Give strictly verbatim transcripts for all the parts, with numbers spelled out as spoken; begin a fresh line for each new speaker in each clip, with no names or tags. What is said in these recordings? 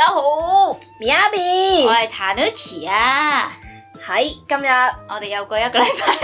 家好
，Miyabi，
我係 Tanuki 啊。
喺今日
我哋又過一個禮拜，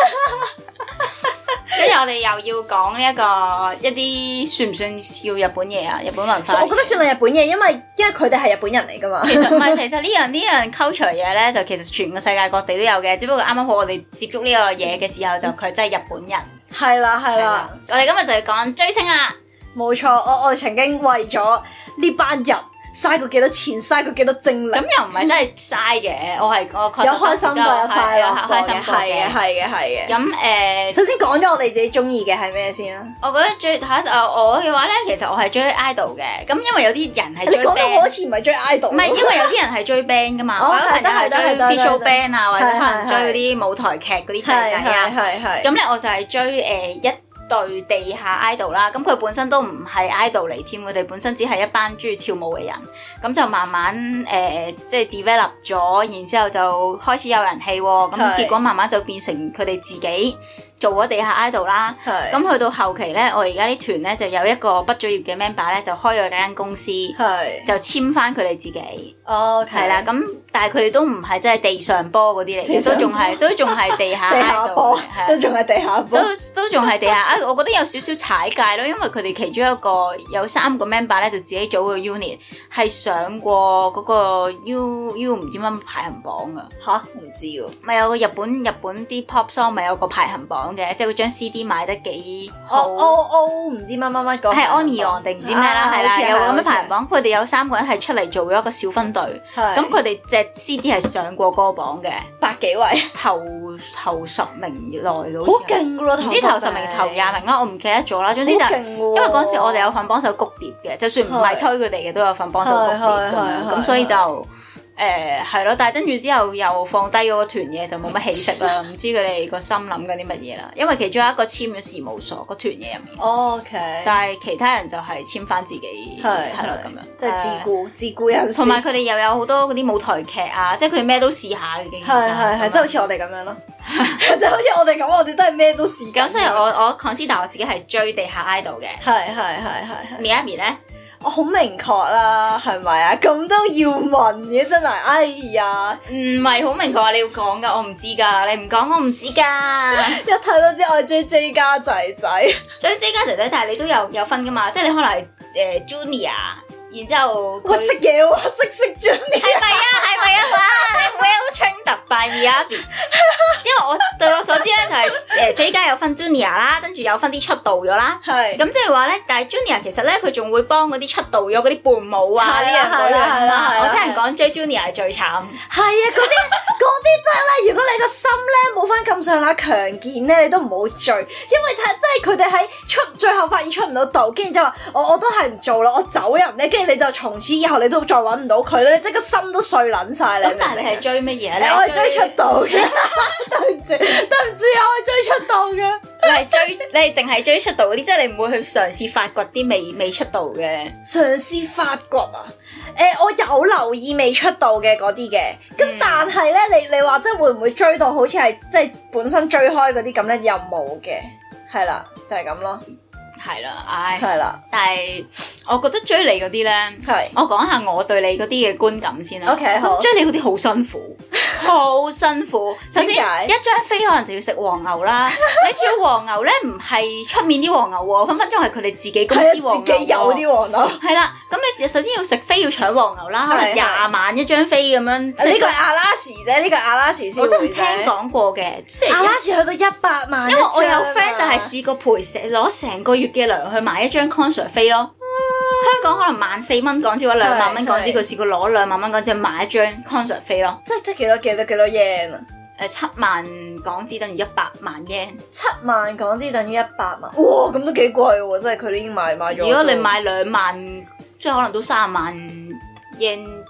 跟住我哋又要講呢一個一啲算唔算叫日本嘢啊？日本文化，
我覺得算係日本嘢，因為因為佢哋係日本人嚟噶嘛。
其實唔係，其實呢樣呢樣 culture 嘢咧，就其實全個世界各地都有嘅，只不過啱啱好我哋接觸呢個嘢嘅時候，就佢真係日本人。
係啦係啦，
我哋今日就要講追星啦。
冇錯，我我哋曾經為咗呢班人嘥過幾多錢，嘥過幾多精力。
咁又唔係真係嘥嘅，我係我確實
有開心過，有快樂過嘅，
開心過嘅，
係嘅係嘅係嘅。
咁誒，呃、
首先講咗我哋自己中意嘅係咩先啊？
我覺得最嚇誒我嘅話咧，其實我係追 idol 嘅。咁因為有啲人係追 band，
你講到我好似唔係追 idol。唔係，
因為有啲人係追 band 噶嘛。
哦，
我有朋友係追 visual band 啊，或者可能追嗰啲舞台劇嗰啲仔仔啊。
係係。
咁咧我就係追誒一對地下 idol 啦，咁佢本身都唔係 idol 嚟添，佢哋本身只係一班中意跳舞嘅人，咁就慢慢誒、呃、即係 develop 咗，然之後就開始有人氣喎，咁結果慢慢就變成佢哋自己做咗地下 idol 啦。咁去到後期咧，我而家啲團咧就有一個畢咗業嘅 member 咧，就開咗間公司，就簽翻佢哋自己。哦，係啦，咁但係佢哋都唔係真係地上波嗰啲嚟嘅，都仲係都仲係地下 idol，
都仲係地下波，
都都仲係地下。我覺得有少少踩界咯，因為佢哋其中一個有三個 member 咧，就自己組個 unit， 係上過嗰個 U U 唔知乜排行榜噶
吓，唔知喎。
咪有個日本日本啲 pop song 咪有個排行榜嘅，即係佢張 C D 賣得幾好。
O O O 唔知乜乜乜個
係 Onion 定唔知咩啦，係啦，有個咁嘅排行榜。佢哋有三個人係出嚟做咗一個小分隊，咁佢哋隻 C D 係上過歌榜嘅，
百幾位
頭頭十名內嘅，
好勁噶咯，
唔知頭十名頭廿名啦，我唔記得咗啦。總之就因為嗰時我哋有份幫手谷碟嘅，就算唔係推佢哋嘅，都有份幫手谷碟咁樣，咁所以就誒係咯。但係跟住之後又放低嗰個團嘢，就冇乜起色啦。唔知佢哋個心諗緊啲乜嘢啦。因為其中有一個簽咗事務所個團嘢入面
，OK，
但係其他人就係簽翻自己，係係咯咁樣，
即係自顧自顧人士。
同埋佢哋又有好多嗰啲舞台劇啊，即係佢哋咩都試下嘅。
係係係，即係好似我哋咁樣咯，即係好似我哋咁，我哋都係咩都試。
咁所以我我 consider 我自己係追地下 idol 嘅。
係係係係係。
Miyabi 咧？
我好明確啦，係咪啊？咁都要問嘅真係，哎呀，
唔係好明確啊！你要講噶，我唔知噶，你唔講我唔知噶。
一睇都知我係追 J 家仔仔，
追 J 家仔仔，但係你都有有分噶嘛？即係你可能係誒、呃、Junior，然之後
我識嘢喎，識識 Junior，
係咪啊？係咪啊？哇！你 well trained by Miyabi， 因為我對我所知咧就係、是、誒、呃、J 家有分 Junior 啦，跟住有分啲出道咗啦。係咁即係話咧，但係 Junior 其實咧佢仲會幫嗰啲出道咗嗰啲伴舞啊呢樣嗰樣啦。我聽人講追 Junior 係最慘。係
啊，嗰啲嗰啲真係咧，如果你個心咧冇翻咁上下強健咧，你都唔好追，因為睇真係佢哋喺出最後發現出唔到道，跟住就話我我都係唔做啦，我走人咧，跟住你就從此以後你都再揾唔到佢咧，即係個心都碎撚晒你。咁但係你係追乜嘢咧？我係追出道嘅，對唔住對唔住，我係追出道嘅。
你係追你係淨係追出道嗰啲，即係你唔會去嘗試發掘啲未未出道嘅。
嘗試發掘啊？誒、呃，我有留意未出道嘅嗰啲嘅，咁、嗯、但係咧，你你話即係會唔會追到好似係即係本身追開嗰啲咁咧？又冇嘅，係啦，就係、是、咁咯。
係啦，唉，
係啦，
但係我覺得追你嗰啲咧，係我講下我對你嗰啲嘅觀感先啦。
OK， 好，
追你嗰啲好辛苦，好辛苦。首先一張飛可能就要食黃牛啦，你仲要黃牛咧，唔係出面啲黃牛喎，分分鐘係佢哋自己公司黃牛，
自己有啲黃牛。係
啦，咁你首先要食飛要搶黃牛啦，可能廿萬一張飛咁樣。呢
個係阿拉士啫，呢個係阿拉士先。
我都聽講過嘅，
阿拉士去到一百萬，
因為我有 friend 就係試過賠成攞成個月嘅糧去買一張 concert 飛咯，香港可能萬四蚊港紙或者兩萬蚊港紙，佢試過攞兩萬蚊港紙買一張 concert 飛咯。
即即幾多幾多幾多 yen 啊？
誒，七萬港紙等於一百萬 yen。七
萬港紙等於一百萬，哇！咁都幾貴喎，真係佢哋已經買買咗。
如果你買兩萬，即係可能都三十萬 yen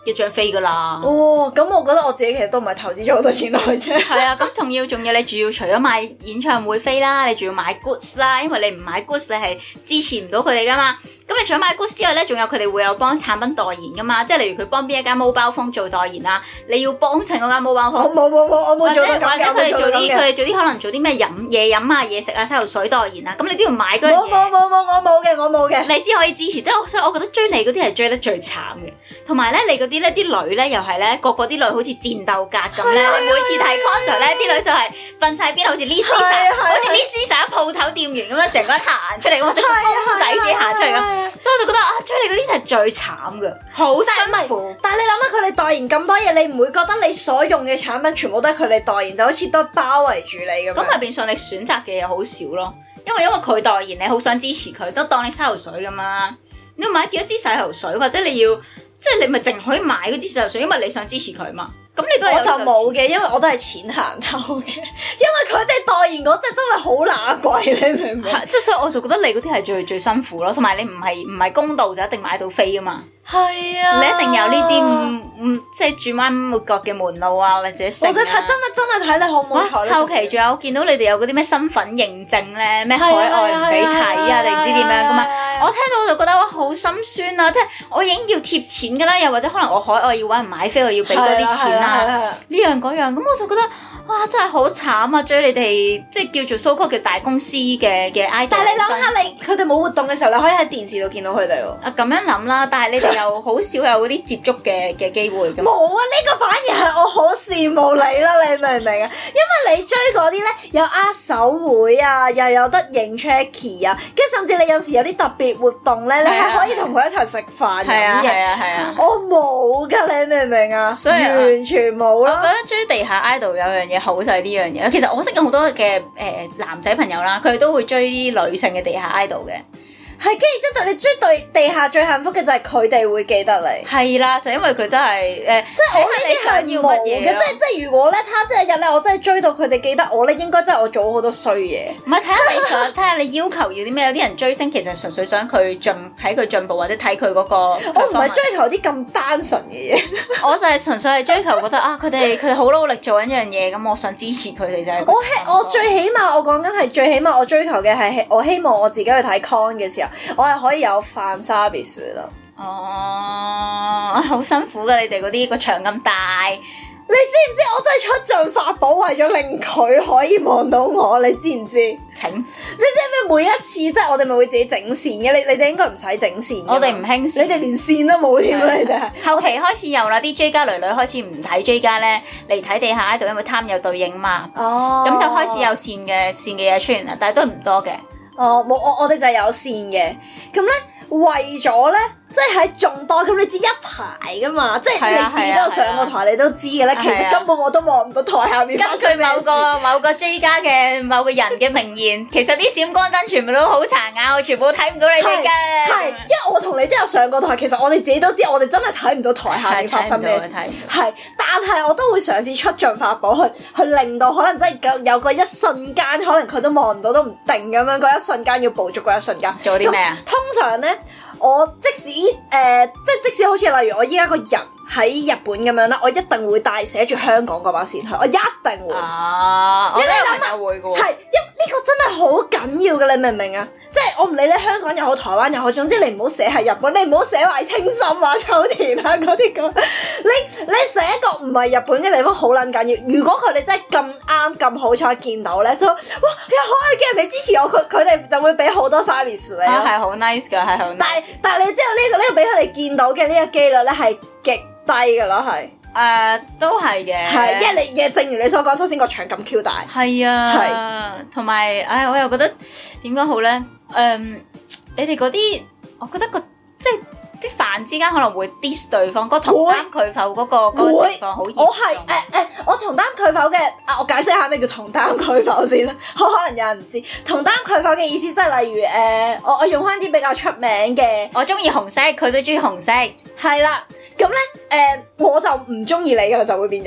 一張飛噶啦。
哦，咁我覺得我自己其實都唔係投資咗好多錢落去啫。
係啊，咁仲要仲要你仲要除咗買演唱會飛啦，你仲要買 goods 啦，因為你唔買 goods 你係支持唔到佢哋噶嘛。咁你除咗買 goods 之外咧，仲有佢哋會有幫產品代言噶嘛，即係例如佢幫邊一間 mobile phone 做代言啊，你要幫襯嗰間 mobile phone。
冇冇冇，我冇做過咁嘅。
或者佢哋做啲佢哋做啲可能做啲咩飲嘢飲啊、嘢食啊、洗頭水代言啊，咁你都要買嗰樣嘢。冇冇冇冇，我冇嘅，我冇嘅。你先可以支持，即係所以我覺得追你嗰啲係追得最慘嘅。同埋咧，你嗰啲咧啲女咧又係咧，個個啲女好似戰鬥格咁咧，每次睇 concert 咧，啲女就係瞓晒邊，好似 Lisa，好似 Lisa 鋪頭店員咁樣，成個人行出嚟，或者個公仔自己行出嚟咁，所以我就覺得啊，追你嗰啲係最慘噶，好辛苦。
但係你諗下，佢哋代言咁多嘢，你唔會覺得你所用嘅產品全部都係佢哋代言，就好似都包圍住你咁樣。
咁係變相你選擇嘅嘢好少咯，因為因為佢代言，你好想支持佢，都當你洗頭水咁嘛。你要買幾多支洗頭水，或者你要。即係你咪淨可以買嗰啲洗頭水，因為你想支持佢嘛。咁你都係我就冇嘅，因為我都係錢行頭嘅。因為佢哋代言嗰隻真係好乸貴，你明唔明？ 即係所以我就覺得你嗰啲係最最辛苦咯，同埋你唔係唔係公道就一定買到飛啊嘛。
係啊，
你一定有呢啲唔唔即係轉彎抹角嘅門路啊，或者成啊。
或者睇真係真係睇你好唔好彩。
後期仲有見到你哋有嗰啲咩身份認證咧，咩海外唔俾睇啊，定唔知點樣噶嘛？我聽到我就覺得哇好心酸啊！即係我已經要貼錢噶啦，又或者可能我海外要搵人買飛，我要俾多啲錢啊，呢樣嗰樣，咁我就覺得哇真係好慘啊！追你哋即係叫做 so called 叫大公司嘅嘅 idol。但係你諗下，你佢哋冇活動嘅時候，你可以喺電視度見到佢哋喎。啊咁樣諗啦，但係你哋又好少有嗰啲接觸嘅嘅機會㗎。冇
啊！呢、這個反而係我好羨慕你啦，你明唔明啊？因為你追嗰啲咧有握手會啊，又有得影 checky 啊，跟住甚至你有時有啲特別活動咧，你係可以同佢一齊食飯飲嘢。係啊係啊，我冇㗎，你明唔明啊？所以完全冇咯。我覺得追地下 idol 有樣嘢好就係呢樣嘢。其實我識有好多嘅誒、呃、男仔朋友啦，佢哋都會追啲女性嘅地下 idol 嘅。係，跟住之後你追對地下最幸福嘅就係佢哋會記得你。係啦，就因為佢真係誒，呃、即係我呢啲想要乜嘢嘅，即係即係如果咧，他即係日咧，我真係追到佢哋記得我咧，應該真係我做好多衰嘢。唔係睇下你想，睇下你要求要啲咩？有啲人追星其實純粹想佢進睇佢進步，或者睇佢嗰個。我唔係追求啲咁單純嘅嘢，我就係純粹係追求覺得啊，佢哋佢哋好努力做緊一樣嘢，咁我想支持佢哋就係。我希我最起碼我講緊係最起碼我追求嘅係我希望我自己去睇 con 嘅時候。我係可以有飯 service 咯。哦，好辛苦噶，你哋嗰啲個場咁大，你知唔知我真係出盡法寶為咗令佢可以望到我，你知唔知？請，你知唔知每一次即係我哋咪會自己整線嘅？你你哋應該唔使整線，我哋唔興線，你哋連線都冇添，你哋後期開始有啦，啲 J 家女女開始唔睇 J 家咧，嚟睇地下 idol，因為貪有對應嘛。哦，咁就開始有線嘅線嘅嘢出現啦，但係都係唔多嘅。哦，冇，我我哋就係有線嘅，咁咧為咗咧，即係喺眾多，咁你知一排噶嘛，即係你自己都有上過台，啊啊、你都知嘅咧。啊、其實根本我都望唔到台下面。根據某個某個 J 家嘅某個人嘅名言，其實啲閃光燈全部都好殘眼，我全部睇唔到你哋嘅。係，因為我同你都有上過台，其實我哋自己都知，我哋真係睇唔到台下面發生咩事。係，但係我都會嘗試出盡法寶去去令到可能真係有個一瞬間，可能佢都望唔到都唔定咁樣，嗰一瞬間要捕捉嗰一瞬間。做啲咩啊？通常咧。我即使誒、呃，即係即使好似例如我依家個人喺日本咁樣啦，我一定會帶寫住香港嗰把線去，我一定會。啊，我都有朋友會嘅喎。係，因呢個真係好緊要嘅，你明唔明啊？即係我唔理你香港又好，台灣又好，總之你唔好寫係日本，你唔好寫壞清心啊、秋田啊嗰啲咁。你你寫一個唔係日本嘅地方好撚緊要。如果佢哋真係咁啱咁好彩見到咧，就哇又好愛嘅人哋支持我，佢佢哋就會俾好多 service 你咯。係好 nice 㗎，係好 nice。但係但係你知道呢、呢個呢、呢個俾佢哋見到嘅呢個機率咧係極低㗎咯，係。誒、uh, 都係嘅，係，因為你嘅正如你所講，首先個場咁 Q 大，係啊，係，同埋，唉，我又覺得點講好咧？誒、um，你哋嗰啲，我覺得個即係啲飯之間可能會 diss 對方，個同擔拒否嗰個嗰個情況好嚴重。我係誒誒，我同擔拒否嘅，啊，我解釋下咩叫同擔拒否先啦。可能有人唔知，同擔拒否嘅意思即係例如誒、呃，我我用翻啲比較出名嘅，我中意紅色，佢都中意紅色，係啦。咁咧，誒、呃，我就唔中意你噶啦，就會變咗，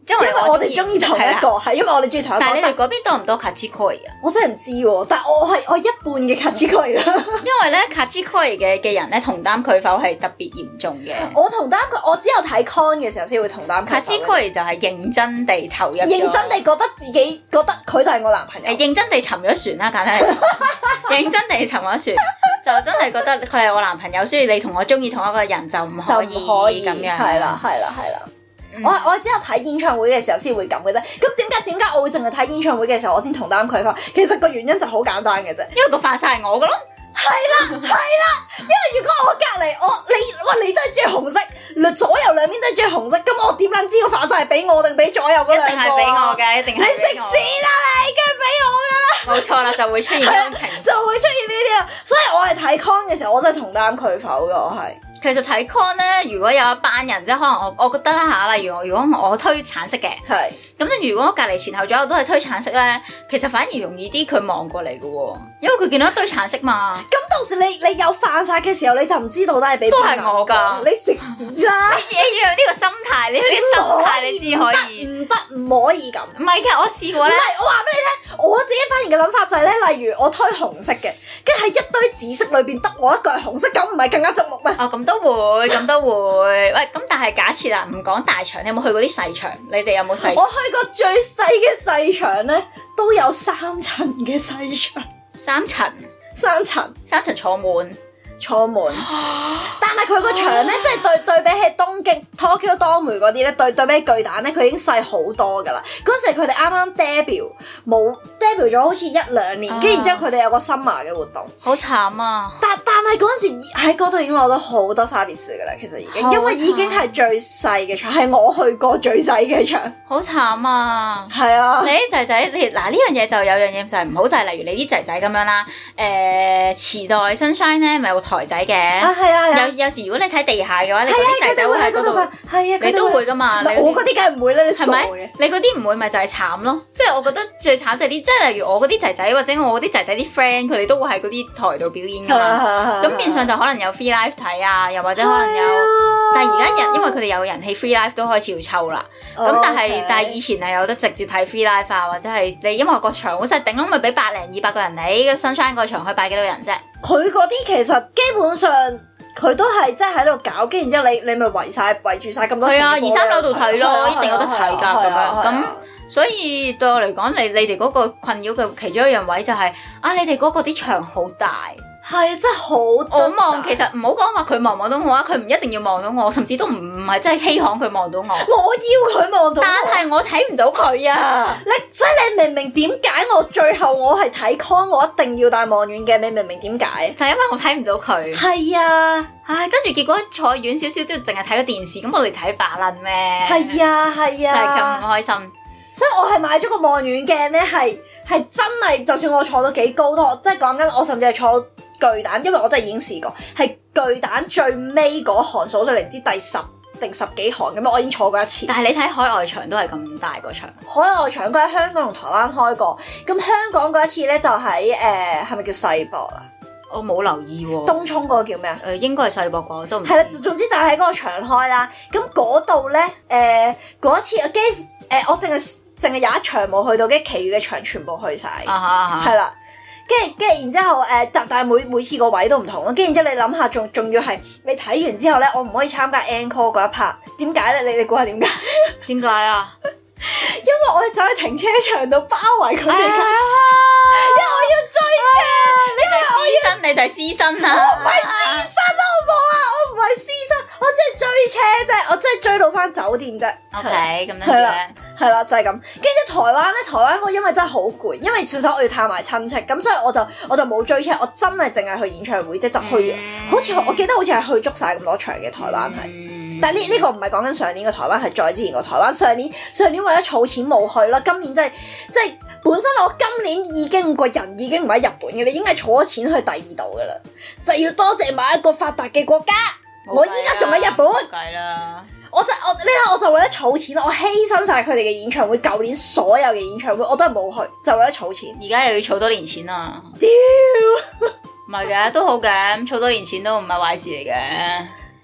因為
我哋中意同一個，係因為我哋中意同一個。
但係你哋嗰邊多唔多卡茲科啊？
我真係唔知喎，但係我係我一半嘅卡茲科啦。因
為咧卡茲科嘅嘅人咧同擔拒否係特別嚴重嘅。
我同擔拒，我只有睇 con 嘅時候先會同擔拒否。
卡茲科就係認真地投入，
認真地覺得自己覺得佢就係我男朋友。
誒，認真地沉咗船啦，簡單嚟講，認真地沉咗船，就真係覺得佢係我男朋友，所以你同我中意同一個人就唔可以咁樣。
係啦，係啦，係啦。嗯、我我只有睇演唱會嘅時候先會咁嘅啫。咁點解點解我會淨係睇演唱會嘅時候我先同擔拒否？其實個原因就好簡單嘅啫，
因為個飯晒係我嘅咯。
係啦，係啦。因為如果我隔離我你哇你都係中意紅色，左右兩邊都係中意紅色，咁我點撚知個飯晒係俾我定俾左右嗰兩個？一定係俾我嘅，一定係。你食屎啦你，梗係俾我㗎啦！冇錯啦，就會出現呢種情況，就會出現呢啲啦。所以我係睇 con 嘅時候，我真係同擔拒否㗎，我係。
其實睇 con 咧，如果有一班人，即係可能我我覺得啦嚇，例如我如果我推橙色嘅，係咁咧，如果我隔離前後左右都係推橙色咧，其實反而容易啲佢望過嚟嘅喎，因為佢見到一堆橙色嘛。咁到時你你有飯晒嘅時候，你就唔知道都係俾都係我㗎，你食屎啦！你要有呢個心態，你有呢個心態你先可以。唔得，唔可以咁。唔係㗎，我試過咧。唔係，我話俾你聽，我自己發現嘅諗法就係咧，例如我推紅色嘅，跟住喺一堆紫色裏邊得我一個係紅色，咁唔係更加矚目咩？哦，咁。都會，咁都會。喂，咁但係假設啦，唔講大場，你有冇去過啲細場？你哋有冇細場？我去過最細嘅細場咧，都有三層嘅細場。三層，三層，三層坐滿。坐滿，但係佢個場咧，即係對對比起東京 Tokyo Dome 嗰啲咧，對對比起巨蛋咧，佢已經細好多噶啦。嗰時佢哋啱啱 debut，冇 debut 咗好似一兩年，跟住然之後佢哋有個 summer 嘅活動，好慘啊！但但係嗰陣時喺嗰度已經攞到好多 service 噶啦，其實已經，因為已經係最細嘅場，係我去過最細嘅場，好慘啊！係啊，你啲仔仔，你嗱呢樣嘢就有樣嘢就係唔好，就係例如你啲仔仔咁樣啦，誒池袋 Sunshine 咧咪有台仔嘅，啊係啊，有有時如果你睇地下嘅話，你嗰啲仔仔會喺嗰度，係啊，你都會噶嘛？我嗰啲梗係唔會啦，你傻嘅。你嗰啲唔會咪就係慘咯？即係我覺得最慘就係啲，即係例如我嗰啲仔仔或者我嗰啲仔仔啲 friend，佢哋都會喺嗰啲台度表演噶嘛。咁變相就可能有 free live 睇啊，又或者可能有，但係而家人因為佢哋有人氣 free live 都開始要抽啦。咁但係但係以前係有得直接睇 free live 啊，或者係你因為個場好細，頂籠咪俾百零二百個人嚟，個 Sunshine 個場可以擺幾多人啫？佢嗰啲其實基本上佢都係即係喺度搞，跟住然之後你你咪圍晒圍住晒咁多。係啊，二三樓度睇咯，一定有得睇㗎咁樣。咁所以對我嚟講，你你哋嗰個困擾嘅其中一樣位就係啊，你哋嗰個啲場好大。係啊，真係好多。我望其實唔好講話佢望唔望到我啊，佢唔一定要望到我，甚至都唔唔係真係稀罕佢望到我。我要佢望到我，但係我睇唔到佢啊！你所以你明唔明點解我最後我係睇 con， 我一定要戴望遠鏡？你明唔明點解？就係因為我睇唔到佢。係啊，唉，跟住結果坐遠少少都淨係睇個電視，咁我哋睇把撚咩？係啊，係啊，就係咁唔開心。所以我係買咗個望遠鏡咧，係係真係，就算我坐到幾高都，即係講緊我甚至係坐巨蛋，因為我真係已經試過，係巨蛋最尾嗰行數咗嚟，唔知第十定十幾行咁樣，我已經坐過一次。但係你睇海外場都係咁大個場，海外場佢喺香港同台灣開過，咁香港嗰一次咧就喺誒係咪叫世博啊？我冇留意喎、哦。東涌嗰個叫咩啊？誒、呃、應該係世博啩，我都唔知。係啦，總之就喺嗰個場開啦。咁嗰度咧誒嗰一次我幾乎誒、呃、我淨係淨係有一場冇去到，跟住其餘嘅場全部去晒。啊哈啊哈。係啦。跟住，跟住，然之後，誒、呃，但但係每每次個位都唔同咯。跟住，然之後你諗下，仲仲要係你睇完之後咧，我唔可以參加 encore 嗰一 part。點解咧？你你估下點解？點解啊？因為我哋走去停車場度包圍佢哋，啊、因為我要追車。啊、你係私生，你就係私生啊！我唔係私生，好唔好啊？我唔係私生，我真係追車啫，我真係追到翻酒店啫。OK，咁樣係啦，係啦，就係、是、咁。跟住台灣咧，台灣我因為真係好攰，因為算數我要探埋親戚，咁所以我就我就冇追車，我真係淨係去演唱會，即係就去，嗯、好似我記得好似係去足晒咁多場嘅台灣係。嗯但係呢呢個唔係講緊上年嘅台灣，係再之前個台灣。上年上年為咗儲錢冇去啦，今年真係即係本身我今年已經個人已經唔喺日本嘅，你已經係儲咗錢去第二度噶啦，就要多謝某一個發達嘅國家。我依家仲喺日本，計啦。我就我呢下我就為咗儲錢，我犧牲晒佢哋嘅演唱會，舊年所有嘅演唱會我都係冇去，就為咗儲錢。而家又要儲多年錢啊！屌，唔係嘅都好嘅，儲多年錢都唔係壞事嚟嘅。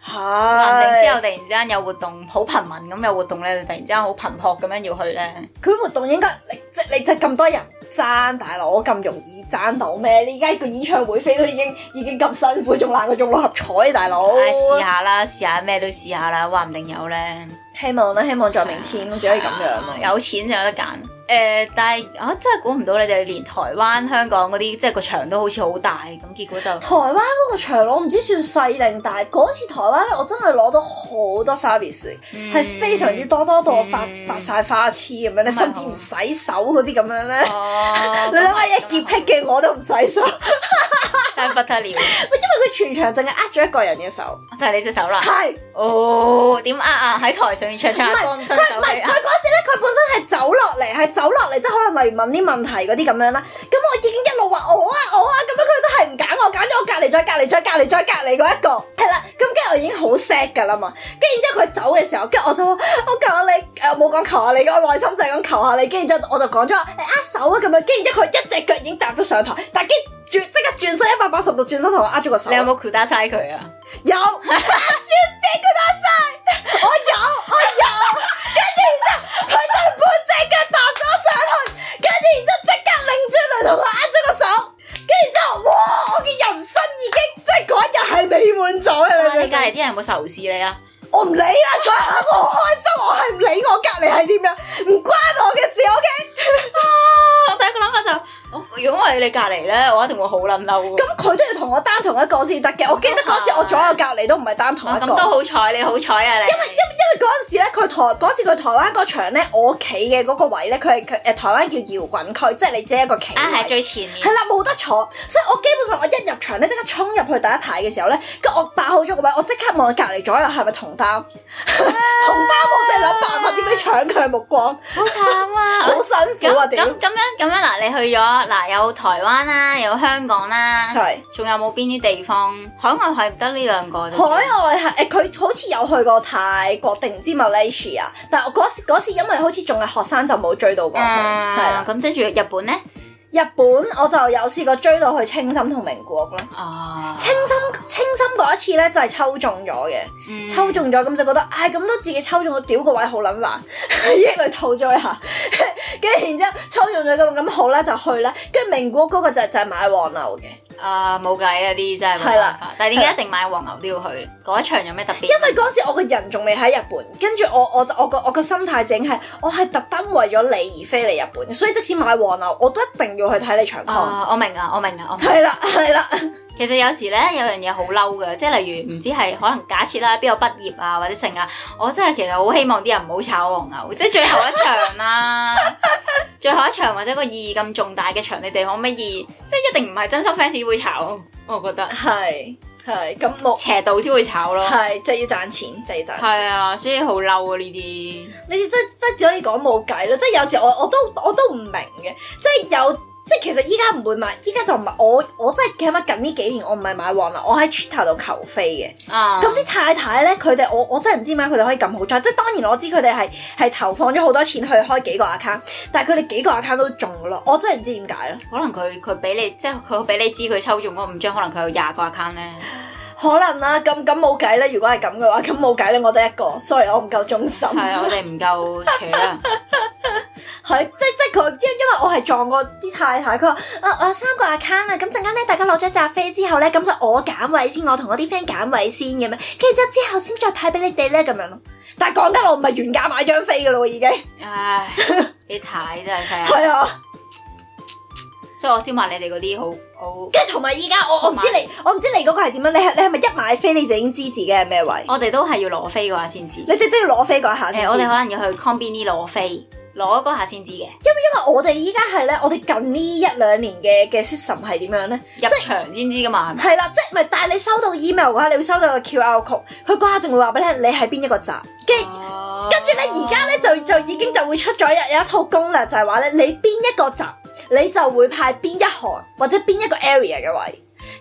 係，之後突然之間有活動好頻密咁有活動咧，突然之間好頻撲咁樣要去咧。
佢活動應該你即係你就咁多人爭，大佬咁容易爭到咩？你而家個演唱會飛都已經已經咁辛苦，仲難過中六合彩，大佬。
唉，試下啦，試下咩都試下啦，話唔定有咧。
希望啦，希望在明天只可以咁樣咯。
有錢就有得揀。誒、呃，但係啊，真係估唔到你哋連台灣、香港嗰啲，即係個場都好似好大，咁結果就
台灣嗰個場我唔知算細定大。嗰次台灣咧，我真係攞到好多 service，係、嗯、非常之多，多到我發、嗯、發晒花痴咁樣咧，甚至唔洗手嗰啲咁樣咧。哦、你諗下，一潔癖嘅我都唔洗手，
真係不得了。因為
佢全場淨係握咗一個人嘅手，
就係你隻手啦。
係是
哦，點握啊？喺台上面唱唱下歌，伸手
佢唔係佢嗰時咧，佢本身係走落嚟，係走落嚟，即係可能例如問啲問題嗰啲咁樣啦。咁我已經一路話我啊我啊，咁樣佢都係唔揀我，揀咗我隔離再隔離再隔離再隔離嗰一個，係啦。咁跟住我已經好 sad 㗎啦嘛。跟住然之後佢走嘅時候，跟住我就話我求下你，誒冇講求下你，我內心就係講求下你。跟住之後我就講咗誒握手啊咁樣。跟住之後佢一隻腳已經踏咗上台，但係轉即刻轉身一百八十度轉身同我握咗個手。你
有冇 kuda 晒佢啊？
有 ，Tuesday kuda 晒，我有我有。跟住然之後佢就半隻腳踏咗上去，跟住然之後即刻擰轉嚟同我握咗個手。跟住之後，哇！我嘅人生已經即係嗰一日係美滿咗嘅。你
你隔離啲人有冇仇視你啊？
我唔理啦，嗰一刻我好開心，我係唔理我隔離係點樣，唔關我嘅事。O K。
我第一個諗法就，如果我係你隔離咧，我一定會好撚嬲。
咁佢都要同我擔同一個先得嘅。我記得嗰時我左右隔離都唔係擔同一個。咁
都好彩，你好彩啊！你。因為因
為因為嗰陣時咧，佢台嗰時佢台灣嗰場咧，我企嘅嗰個位咧，佢係佢誒台灣叫搖滾區，即係你只係一個企位。
啊，係最前面。
係啦，冇得坐，所以我基本上我一入場咧，即刻衝入去第一排嘅時候咧，跟住我霸好咗個位，我即刻望隔離左右係咪同擔？同擔我就係諗辦法點樣搶佢嘅目光。
好慘啊！
好辛苦啊！點？
咁咁樣咁樣嗱，你去咗嗱有台灣啦，有香港啦，
係，仲
有冇邊啲地方？海外係唔得呢兩個。
海外係誒，佢好似有去過泰國定唔知 Malaysia，但係我嗰時嗰時因為好似仲係學生就冇追到過去，係啦。
咁跟住日本咧？
日本我就有試過追到去青森同名古屋咯。哦，青森青森嗰一次咧就係抽中咗嘅，嗯、抽中咗咁就覺得，唉咁都自己抽中咗，屌個位好撚難，已經嚟吐咗一下，跟住然之後抽中咗咁咁好啦就去啦，跟住名古屋嗰個就就係買黃牛嘅。
啊冇計啊，啲真係冇辦法，但係點解一定買黃牛都要去？嗰一場有咩特別？
因為嗰時我個人仲未喺日本，跟住我我我個我個心態整係，我係特登為咗你而飛嚟日本，所以即使買黃牛，我都一定要去睇你場 con。
啊，我明啊，我明啊，我明。
係啦係啦。
其實有時咧有樣嘢好嬲嘅，即係例如唔知係可能假設啦，邊個畢業啊或者剩啊，我真係其實好希望啲人唔好炒黃牛，即係最後一場啦，最後一場或者個意義咁重大嘅場，你哋可唔可以即係一定唔係真心 fans 會炒？我覺得
係係咁冇
斜道先會炒咯，
係即係要賺錢，即係要賺錢。
係啊，所以好嬲啊呢啲。
呢啲真真只可以講冇計咯，即係有時我我都我都唔明嘅，即係有。即係其實依家唔會買，依家就唔係我我真係起碼近呢幾年我唔係買黃牛，我喺 Twitter 度求飛嘅。啊！咁啲太太咧，佢哋我我真係唔知點解佢哋可以咁好彩。即係當然我知佢哋係係投放咗好多錢去開幾個 account，但係佢哋幾個 account 都中咯。我真係唔知點解咯。可能佢佢俾你即係佢俾你知佢抽中嗰五張，可能佢有廿個 account 咧。可能啦，咁咁冇計咧。如果係咁嘅話，咁冇計咧，我得一個。sorry，我唔夠忠心。係啊，我哋唔夠扯啊。係，即即佢因因為我係撞過啲太太，佢話啊我有三個 account 啊，咁陣間咧大家攞咗扎飛之後咧，咁就我揀位先，我同我啲 friend 揀位先咁樣，跟住之之後先再派俾你哋咧咁樣咯。但係講緊我唔係原價買張飛噶咯，已經。唉，你太真係犀利。係啊。所以我先話你哋嗰啲好好，跟住同埋依家我我唔知你我唔知你嗰個係點樣，你係你係咪一買飛你就已經知自己係咩位？我哋都係要攞飛嗰下先知。你哋都要攞飛嗰下先知。誒、呃，我哋可能要去 Conveni 攞飛，攞嗰下先知嘅。因為因為我哋依家係咧，我哋近呢一兩年嘅嘅 system 係點樣咧？入場先知噶嘛？係啦，即係唔係？但係你收到 email 嘅話，你會收到個 Q R code，佢嗰下仲會話俾你聽，你係邊一個站。跟住跟住咧，而家咧就就已經就會出咗有有一套攻略，就係話咧，你邊一個站。你就會派邊一行或者邊一個 area 嘅位，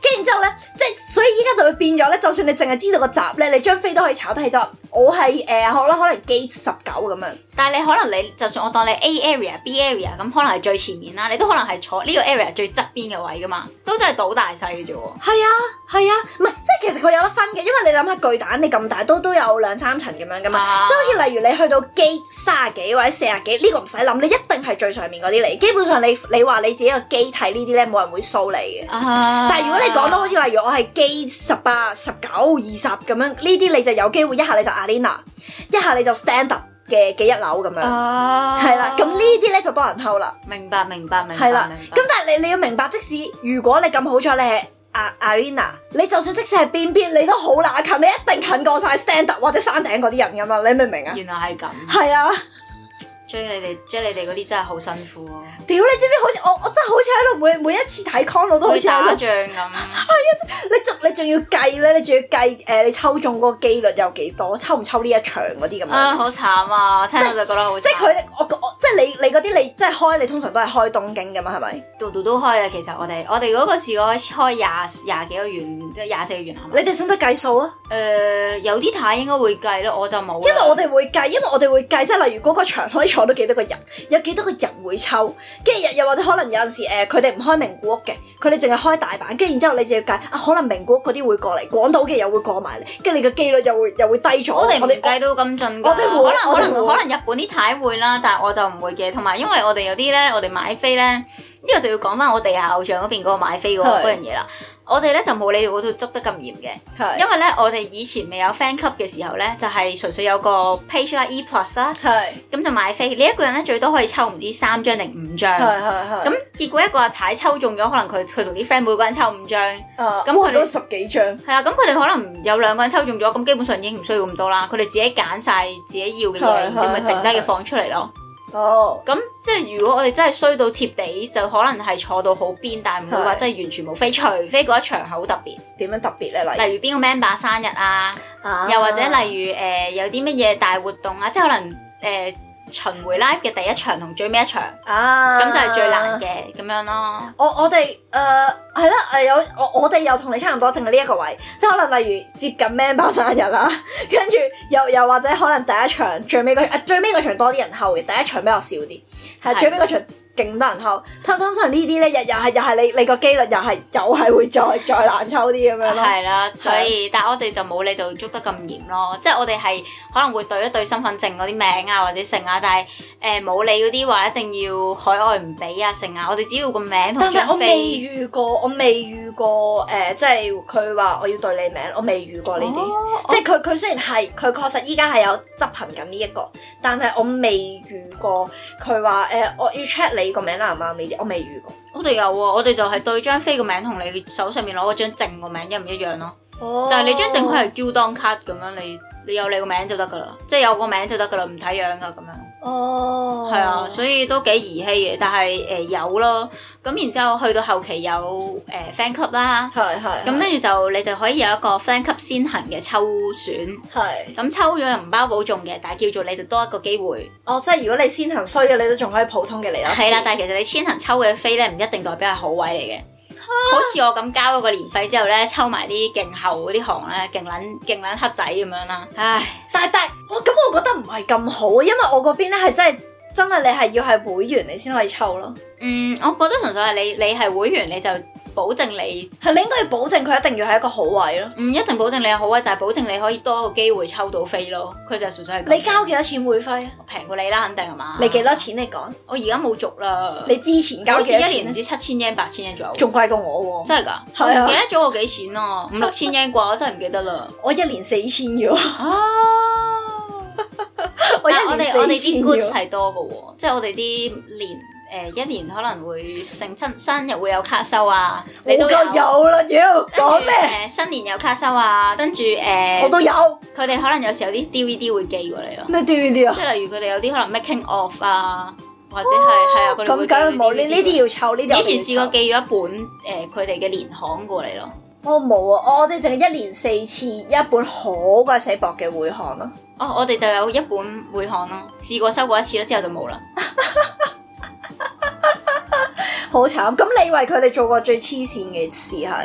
跟住之後咧，即係所以依家就會變咗咧，就算你淨係知道個閘咧，你張飛都可以炒低咗。我係誒好啦，可能 gate 十九咁樣，
但係你可能你就算我當你 A area B area 咁，可能係最前面啦，你都可能係坐呢個 area 最側邊嘅位噶嘛，都真係賭大細嘅啫喎。
係啊係啊，唔係即係其實佢有得分嘅，因為你諗下巨蛋你咁大都都有兩三層咁樣噶嘛，啊、即係好似例如你去到 gate 三十幾或者四十幾呢個唔使諗，你一定係最上面嗰啲嚟。基本上你你話你自己個機睇呢啲咧，冇人會掃你嘅。啊、但係如果你講到好似例如我係 gate 十八、十九、二十咁樣，呢啲你就有機會一下你就 arena， 一下你就 standard 嘅嘅一樓咁樣，係啦、啊。咁呢啲咧就多人偷啦。明白明白明白。係啦。咁但係你你要明白，即使如果你咁好彩，你係 arena， 你就算即使係邊邊，你都好乸近，你一定近過晒 standard 或者山頂嗰啲人噶嘛，你明唔明啊？原來係咁。係啊。追你哋，追你哋嗰啲真係好辛苦啊！屌，你知唔知好似我，我真係好似喺度每每一次睇 con 我都好似打仗咁。係啊，你仲你仲要計咧，你仲要計誒、呃，你抽中嗰個機率有幾多，抽唔抽呢一場嗰啲咁樣。啊，好慘啊！聽到就覺得好慘。即係佢哋，我我即係你你嗰啲，你即係開，你通常都係開東京噶嘛，係咪？度度都開啊！其實我哋我哋嗰個試過開廿廿幾個圓，即係廿四個圓係咪？你哋識得計數啊？誒、呃，有啲太應該會計咯，我就冇。因為我哋會計，因為我哋會計，即係例如嗰個場可以坐到幾多個人，有幾多個人會抽，跟住又又或者可能有陣時誒，佢哋唔開名古屋嘅，佢哋淨係開大阪，跟住然之後你就要計啊，可能名古屋嗰啲會過嚟，廣島嘅又會過埋嚟，跟住你嘅機率又會又會低咗。我哋唔計到咁盡㗎，我哋會可能可能可能日本啲太會啦，但係我就唔會嘅。同埋因為我哋有啲咧，我哋買飛咧，呢、這個就要講翻我地下偶像嗰邊嗰個買飛嗰嗰樣嘢啦。我哋咧就冇你哋嗰度捉得咁嚴嘅，是因為咧我哋以前未有 fan club 嘅時候咧，就係、是、純粹有個 page 啦 E plus 啦，咁是就買飛。你一個人咧最多可以抽唔知三張定五張，咁結果一個阿太抽中咗，可能佢佢同啲 friend 每個人抽五張，咁佢哋十幾張，係啊，咁佢哋可能有兩個人抽中咗，咁基本上已經唔需要咁多啦。佢哋自己揀晒自己要嘅嘢，然之後咪剩低嘅放出嚟咯。哦，咁即係如果我哋真係衰到貼地，就可能係坐到好邊，但係唔會話真係完全冇飛，除非嗰一場係好特別。點樣特別咧？例如例如邊個 member 生日啊，啊又或者例如誒、呃、有啲乜嘢大活動啊，即係可能誒。呃巡迴 live 嘅第一場同最尾一場，啊，咁就係最難嘅咁樣咯。我我哋誒係啦，誒有我我哋又同你差唔多，淨係呢一個位，即係可能例如接近 member 生日啦，跟住又又或者可能第一場最尾嗰誒最尾嗰場多啲人後嘅，第一場比較少啲，係最尾嗰場。勁多人抽，通通常呢啲咧，又又係又係你你個機率又係又係會再再難抽啲咁樣咯。係啦，所以但係我哋就冇你度捉得咁嚴咯，即係我哋係可能會對一對身份證嗰啲名啊或者姓啊，但係誒冇你嗰啲話一定要海外唔俾啊姓啊，我哋只要個名同張飛。但係我未遇過，我未遇過誒、呃，即係佢話我要對你名，我未遇過呢啲。哦、即係佢佢雖然係佢確實依家係有執行緊呢一個，但係我未遇過佢話誒我要 check 你。你個名啱唔啱呢啲？我未遇過。我哋有喎，我哋就係對張飛個名同你手上面攞嗰張證個名一唔一樣咯。哦。但係你張證佢係膠當卡咁樣，你你有你個名就得噶啦，即係有個名就得噶啦，唔睇樣噶咁樣。哦。係啊，所以都幾兒戲嘅，但係誒、呃、有咯。咁然之後去到後期有誒、呃、fan club 啦，係係。咁跟住就你就可以有一個 fan club 先行嘅抽選，係。咁抽咗又唔包保中嘅，但係叫做你就多一個機會。哦，即係如果你先行衰嘅，你都仲可以普通嘅嚟一次。係啦，但係其實你先行抽嘅飛咧，唔一定代表係好位嚟嘅。好似我咁交咗個年費之後咧，抽埋啲勁後嗰啲行咧，勁撚勁撚黑仔咁樣啦。唉，但係但係，我咁我覺得唔係咁好，因為我嗰邊咧係真係真係你係要係會員你先可以抽咯。嗯，我覺得純粹係你你係會員你就保證你係你應該要保證佢一定要係一個好位咯。唔一定保證你係好位，但係保證你可以多一個機會抽到飛咯。佢就純粹係咁。你交幾多錢會費啊？平過你啦，肯定係嘛？你幾多錢你講？我而家冇續啦。你之前交幾多錢？一年唔知七千 yen 八千 yen 左右。仲貴過我喎。真係㗎？係啊。唔記得咗我幾錢咯？五六千 yen 啩，我真係唔記得啦。我一年四千啫喎。啊！我一年四千。我哋我哋啲 goods 係多嘅喎，即係我哋啲年。誒一年可能會成親生日會有卡收啊，你都有有啦，妖講咩？誒新年有卡收啊，跟住誒我都有。佢哋可能有時候啲 D V D 會寄過嚟咯。咩 D V D 啊？即係例如佢哋有啲可能 making of 啊，或者係係啊，佢哋會寄。咁梗係冇呢呢啲要湊呢啲。以前試過寄咗一本誒佢哋嘅年刊過嚟咯。我冇啊，我哋淨係一年四次一本好鬼死薄嘅會刊咯。哦，我哋就有一本會刊咯，試過收過一次啦，之後就冇啦。好慘！咁你為佢哋做過最黐線嘅事係？誒、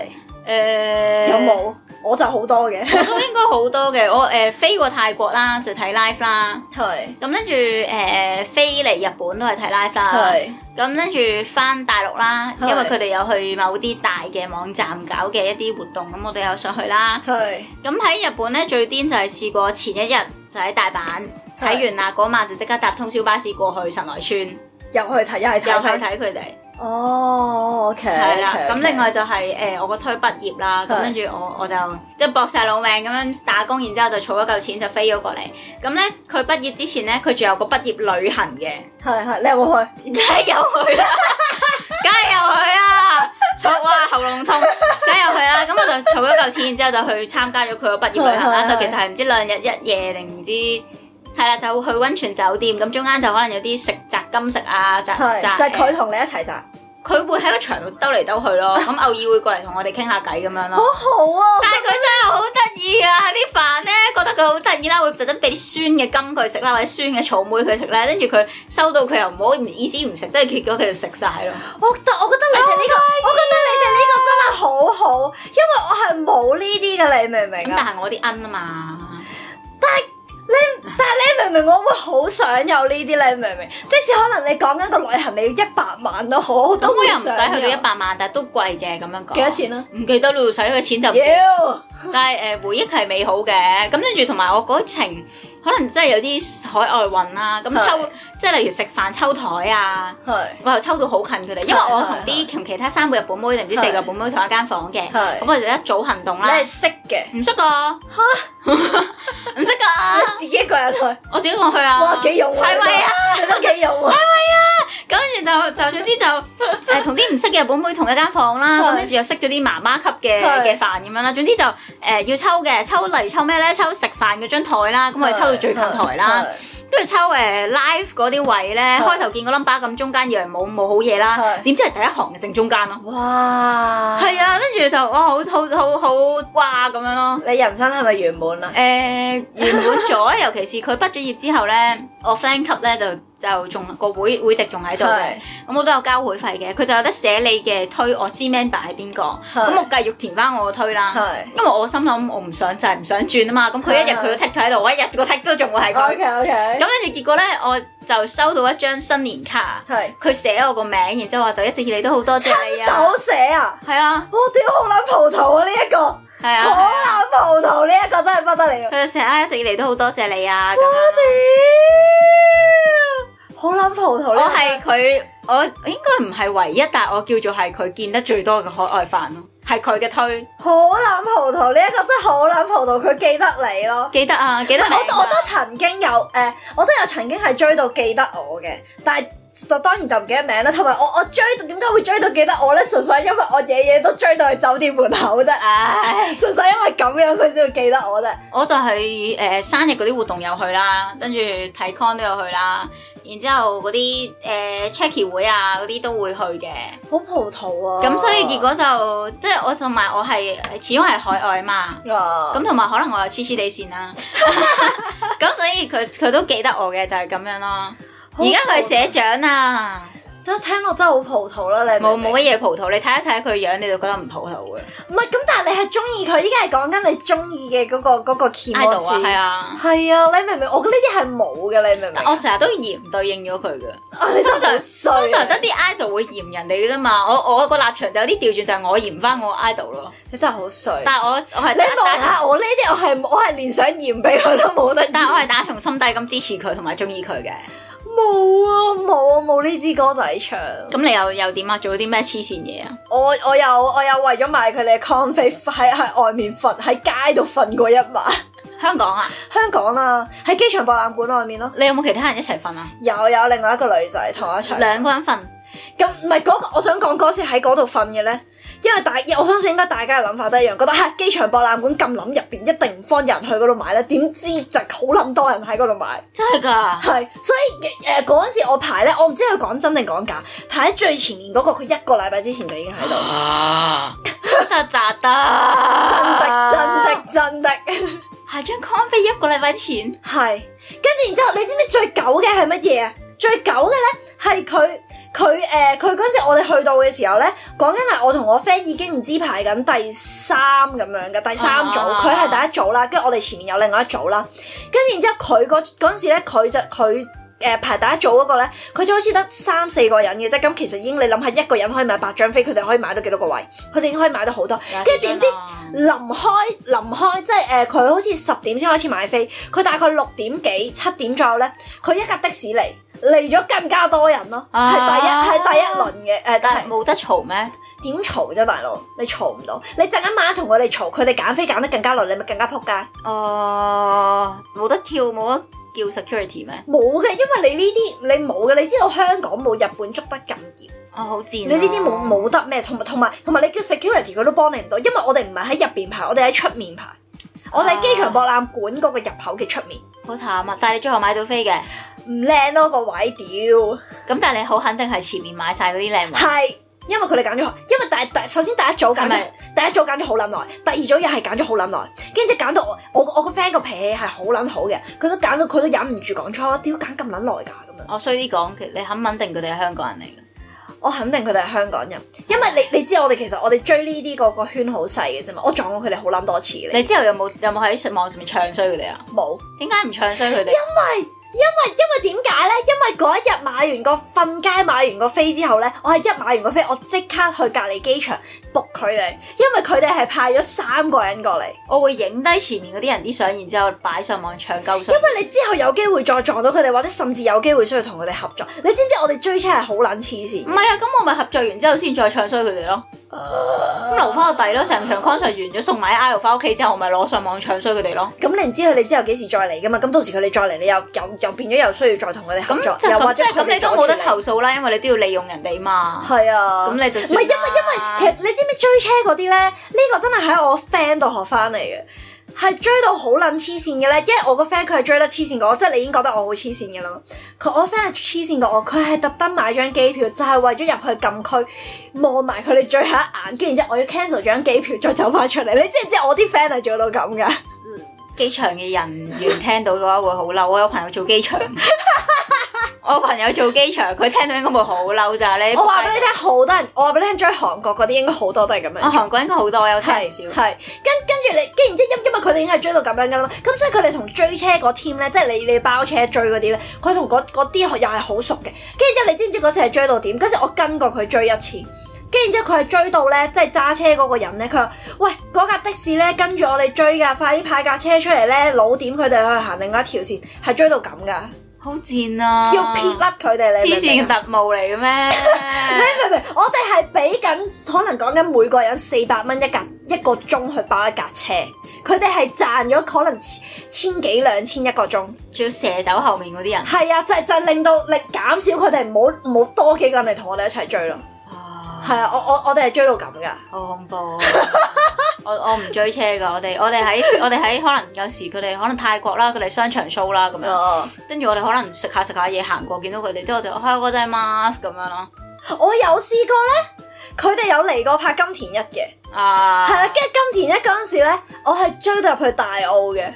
誒
有冇？我就好多嘅，
我都應該好多嘅。我誒、呃、飛過泰國啦，就睇 live 啦。
係。咁
跟住誒飛嚟日本都係睇 live 啦。係。咁跟住翻大陸啦，因為佢哋有去某啲大嘅網站搞嘅一啲活動，咁我哋有上去啦。係。咁喺日本咧最癲就係試過前一日就喺大阪睇完啦，嗰晚就即刻搭通宵巴士過去神奈川，
又去睇，又係睇，
又去睇佢哋。
哦 OK，係啦，
咁另外就係誒我個推畢業啦，咁跟住我我就即係搏晒老命咁樣打工，然之後就儲咗嚿錢就飛咗過嚟。咁咧佢畢業之前咧，佢仲有個畢業旅行嘅。係係，你有冇去？梗係有去啦，梗係有去啊！哇喉嚨痛，梗係有去啦。咁我就儲咗嚿錢，然之後就去參加咗佢個畢業旅行啦。就其實係唔知兩日一夜定唔知。係啦，就去溫泉酒店，咁中間就可能有啲食摘金食啊，摘摘就係佢同你一齊摘，佢會喺個場度兜嚟兜去咯，咁偶爾會過嚟同我哋傾下偈咁樣咯。好好啊！但係佢真係好得意啊！啲飯咧覺得佢好得意啦，會特登俾啲酸嘅金佢食啦，或者酸嘅草莓佢食咧，跟住佢收到佢又唔好意思唔食，都係結果佢就食晒咯。我覺我覺得你哋呢個，我覺得你哋呢個真係好好，因為我係冇呢啲嘅，你明唔明啊？咁但係我啲奀啊嘛，但係。你但係你明唔明？我會好想有呢啲，你明唔明？即使可能你講緊個旅行你要一百萬都好，我都會想。咁我又唔使去到一百萬，但係都貴嘅咁樣講。幾多錢啊？唔記得咯，使嘅錢就。妖！但係誒、呃、回憶係美好嘅，咁跟住同埋我嗰程可能真係有啲海外運啦，咁抽即係例如食飯抽台啊，我又抽到好近佢哋，因為我同啲同其他三個日本妹定唔知四個日本妹同一間房嘅，咁我哋就一組行動啦。你係識嘅？唔識噶嚇，唔識噶。自己一個人去，我自己一個人去啊！哇，幾勇啊！係咪啊？你都幾勇啊！係咪啊？咁跟住就就總之就誒同啲唔識嘅日本妹同一間房啦，咁跟住又識咗啲媽媽級嘅嘅飯咁樣啦。總之就誒、呃、要抽嘅，抽例如抽咩咧？抽食飯嗰張台啦，咁我哋抽到最近台啦。跟住抽誒、呃、live 嗰啲位咧，開頭見個 number 咁中間以為冇冇好嘢啦，點知係第一行嘅正中間咯。哇！係啊，跟住就哇好好好好哇咁樣咯。你人生係咪圓滿啊？誒、呃、圓滿咗，尤其是佢畢咗業之後咧，我 friend 級咧就就仲個會會籍仲喺度嘅，咁我都有交會費嘅。佢就有得寫你嘅推，我知 member 係邊個，咁我繼續填翻我個推啦。因為我心諗我唔想就係、是、唔想轉啊嘛，咁佢一日佢都剔咗喺度，我一日個剔都仲會係佢。OK OK。咁跟住結果咧，我就收到一張新年卡，佢寫我個名，然之後話就一直以嚟都好多謝你啊。親手寫啊？係啊。我屌好撚葡萄啊！呢、這、一個係啊，好撚葡萄呢一個真係不得了。佢就成日一直以嚟都好多謝你啊！我屌，好撚葡萄呢！我係佢，我應該唔係唯一，但係我叫做係佢見得最多嘅海外飯咯。係佢嘅推，好撚葡萄呢一個真係好撚葡萄，佢記得你咯，記得啊，記得我我都曾經有誒、呃，我都有曾經係追到記得我嘅，但係就當然就唔記得名啦。同埋我我追到點解會追到記得我咧？純粹因為我夜夜都追到去酒店門口啫，唉，純粹因為咁樣佢先會記得我啫。我就係、是、誒、呃、生日嗰啲活動有去啦，跟住睇 con 都有去啦。然之後嗰啲誒 checky 會啊嗰啲都會去嘅，好葡萄啊！咁所以結果就即係我同埋我係始終係海外嘛，咁同埋可能我又黐黐地線啦，咁所以佢佢都記得我嘅就係、是、咁樣咯。而家佢係社長啊！都聽落真係好葡萄啦，你冇冇乜嘢葡萄？你睇一睇佢樣，你就覺得唔葡萄嘅。唔係咁，但係你係中意佢，依家係講緊你中意嘅嗰個嗰、嗰個 keyboard 啊，係啊，係啊，你明唔明？我覺得呢啲係冇嘅，你明唔明？我成日都嫌對應咗佢嘅。你通常通常得啲 idol 會嫌人哋嘅啫嘛。我我個立場就有啲調轉，就係我嫌翻我 idol 咯。你真係好衰。但係我我係你望下我呢啲，我係我係連想嫌俾佢都冇得。但係我係打從心底咁支持佢同埋中意佢嘅。冇啊冇啊冇呢支歌仔唱。咁你又又點啊？做咗啲咩黐線嘢啊？我我有我有為咗買佢哋嘅 con 飛喺喺外面瞓喺街度瞓過一晚。香港啊？香港啊，喺機場博覽館外面咯。你有冇其他人一齊瞓啊？有有另外一個女仔同我一齊。兩個人瞓。咁唔係嗰個，我想講嗰次喺嗰度瞓嘅咧，因為大，我相信應該大家嘅諗法都一樣，覺得嚇機場博覽館咁冧入邊一定唔方人去嗰度買咧，點知就好撚多人喺嗰度買，真係㗎，係，所以誒嗰陣時我排咧，我唔知佢講真定講假，排喺最前面嗰個，佢一個禮拜之前就已經喺度，啊，得咋得，真的真的真的，係張 con 飛一個禮拜前，係，跟住然之後你知唔知最狗嘅係乜嘢啊？
最久嘅咧係佢佢誒佢嗰陣時我哋去到嘅時候咧，講緊係我同我 friend 已經唔知排緊第三咁樣嘅第三組，佢係、啊、第一組啦，跟住我哋前面有另外一組啦，跟住然之後佢嗰嗰陣時咧佢就佢。誒、呃、排第一組嗰個咧，佢就好似得三四個人嘅啫，咁其實已經你諗下一個人可以買八張飛，佢哋可以買到幾多個位？佢哋已經可以買到好多，跟住點知臨開臨開即係誒佢好似十點先開始買飛，佢大概六點幾七點左右咧，佢一架的士嚟嚟咗更加多人咯，係、啊、第一係第一輪嘅誒、呃，但係
冇得嘈咩？
點嘈啫，大佬你嘈唔到，你陣間晚同佢哋嘈，佢哋揀飛揀得更加耐，你咪更加撲街。
哦、呃，冇得跳冇得。叫 security 咩？
冇嘅，因為你呢啲你冇嘅，你知道香港冇日本捉得咁嚴。
哦，好賤、啊！
你呢啲冇冇得咩？同埋同埋同埋你叫 security 佢都幫你唔到，因為我哋唔係喺入邊排，我哋喺出面排。啊、我哋喺機場博覽館嗰個入口嘅出面。
好慘啊！但係你最後買到飛嘅？
唔靚咯個位，屌！
咁但係你好肯定係前面買晒嗰啲靚位。係。
因為佢哋揀咗，因為第第首先第一組揀咗，第一組揀咗好撚耐，第二組又係揀咗好撚耐，跟住揀到我我我個 friend 個脾氣係好撚好嘅，佢都揀到佢都忍唔住講錯，點解揀咁撚耐㗎咁樣？
我衰啲講，你肯唔肯定佢哋係香港人嚟嘅？
我肯定佢哋係香港人，因為你你知我哋其實我哋追呢啲個個圈好細嘅啫嘛，我撞過佢哋好撚多次嘅。
你之後有冇有冇喺網上面唱衰佢哋啊？冇。點解唔唱衰佢哋？因
為。因為因為點解咧？因為嗰一日買完個瞓街買完個飛之後咧，我係一買完個飛，我即刻去隔離機場 book 佢哋，因為佢哋係派咗三個人過嚟。我會影低前面嗰啲人啲相，然之後擺上網搶鳩相。因為你之後有機會再撞到佢哋，或者甚至有機會需要同佢哋合作。你知唔知我哋追車係好撚黐線？唔係啊，咁我咪合作完之後先再唱衰佢哋咯。咁、uh, 留翻個底咯，成場 concert 完咗送埋 I 翻屋企之後，我咪攞上網唱衰佢哋咯。咁你唔知佢哋之後幾時再嚟噶嘛？咁到時佢哋再嚟，你又又又變咗又需要再同佢哋合作，
就
又或者
咁你都冇得投訴啦，因為你都要利用人哋嘛。係啊，咁你就唔係因為因為其實你知唔知追車嗰啲咧？呢、呢個真係喺我 friend 度學翻嚟嘅。係追到好撚黐線嘅咧，因為我個 friend 佢係追得黐線過我，即係你已經覺得我好黐線嘅啦。佢我 friend 係黐線過我，佢係特登買張機票，就係、是、為咗入去禁區望埋佢哋最後一眼，跟住然之後我要 cancel 張機票再走翻出嚟。你知唔知我啲 friend 係做到咁噶？機場嘅人員聽到嘅話會好嬲，我有朋友做機場。我朋友做機場，佢聽到應該會好嬲咋你。我話俾你聽，好多人，我話俾你聽，追韓國嗰啲應該好多都係咁樣。啊，韓國應該好多，我有聽唔少。係，跟跟住你，跟然之後因因為佢哋已經係追到咁樣噶啦嘛，咁所以佢哋同追車嗰 team 咧，即係你你包車追嗰啲咧，佢同嗰嗰啲又係好熟嘅。跟住之後你知唔知嗰次係追到點？嗰次我跟過佢追一次，跟住之後佢係追到咧，即係揸車嗰個人咧，佢話：喂，嗰架的士咧跟住我哋追噶，快啲派架車出嚟咧，老點佢哋去行另外一條線，係追到咁噶。好賤啊！要撇甩佢哋，你黐線嘅特務嚟嘅咩？你明唔明？我哋係俾緊，可能講緊每個人四百蚊一架一個鐘去包一架車，佢哋係賺咗可能千幾兩千一個鐘，仲要射走後面嗰啲人。係啊，就係就係令到力減少佢哋，唔好唔好多幾個人嚟同我哋一齊追咯。係啊，我我我哋係追到咁噶，好恐怖。我我唔追車噶，我哋我哋喺我哋喺可能有時佢哋可能泰國啦，佢哋商場 show 啦咁樣，跟住、uh, 我哋可能食下食下嘢行過，見到佢哋，之後我哋開嗰隻 mask 咁樣咯。我有試過咧，佢哋有嚟過拍金田一嘅，啊，係啦，跟住金田一嗰陣時咧，我係追到入去大澳嘅。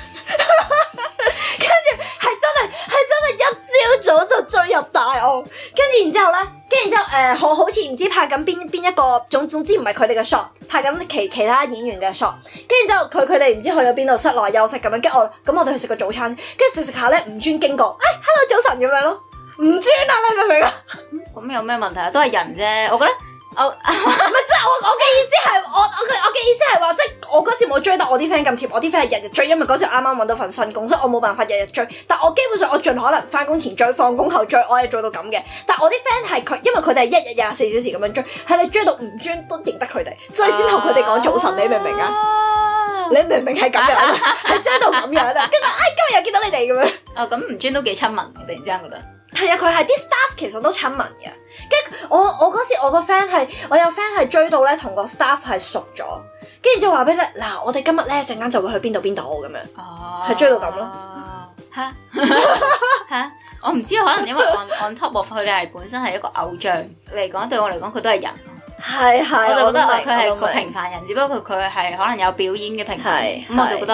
跟住係真係係真係一朝早就追入大澳，跟住然之後咧，跟住然之後誒，好好似唔知拍緊邊邊一個，總總之唔係佢哋嘅 shot，拍緊其其他演員嘅 shot，跟住之後佢佢哋唔知去咗邊度室內休息咁樣，跟住我咁我哋去食個早餐，跟住食食下咧，吳尊經過，哎 hello 早晨咁樣咯，吳尊啊，你明唔明啊？咁有咩問題啊？都係人啫，我覺得。我唔係即係我我嘅意思係我我嘅我嘅意思係話即係我嗰時冇追到我啲 friend 咁貼，我啲 friend 係日日追，因為嗰時啱啱搵到份新工，所以我冇辦法日日追。但我基本上我盡可能翻工前追，放工後追，我係做到咁嘅。但我啲 friend 係佢，因為佢哋係一日廿四小時咁樣追，係你追到唔專都認得佢哋，所以先同佢哋講早晨。你明唔明啊？你明唔明係咁樣？係追到咁樣啊？跟住哎今日又見到你哋咁樣。哦，咁唔專都幾親民，突然之間覺得。係啊，佢係啲 staff 其實都親民嘅。跟住我我嗰時我個 friend 係我有 friend 係追到咧，同個 staff 係熟咗。跟住就話俾你嗱，我哋今日咧陣間就會去邊度邊度咁樣。哦，係追到咁咯。吓吓，我唔知可能因為 on on top of 佢哋係本身係一個偶像嚟講，對我嚟講佢都係人。係係，我就覺得佢係個平凡人，只不過佢佢係可能有表演嘅平凡。咁我就覺得。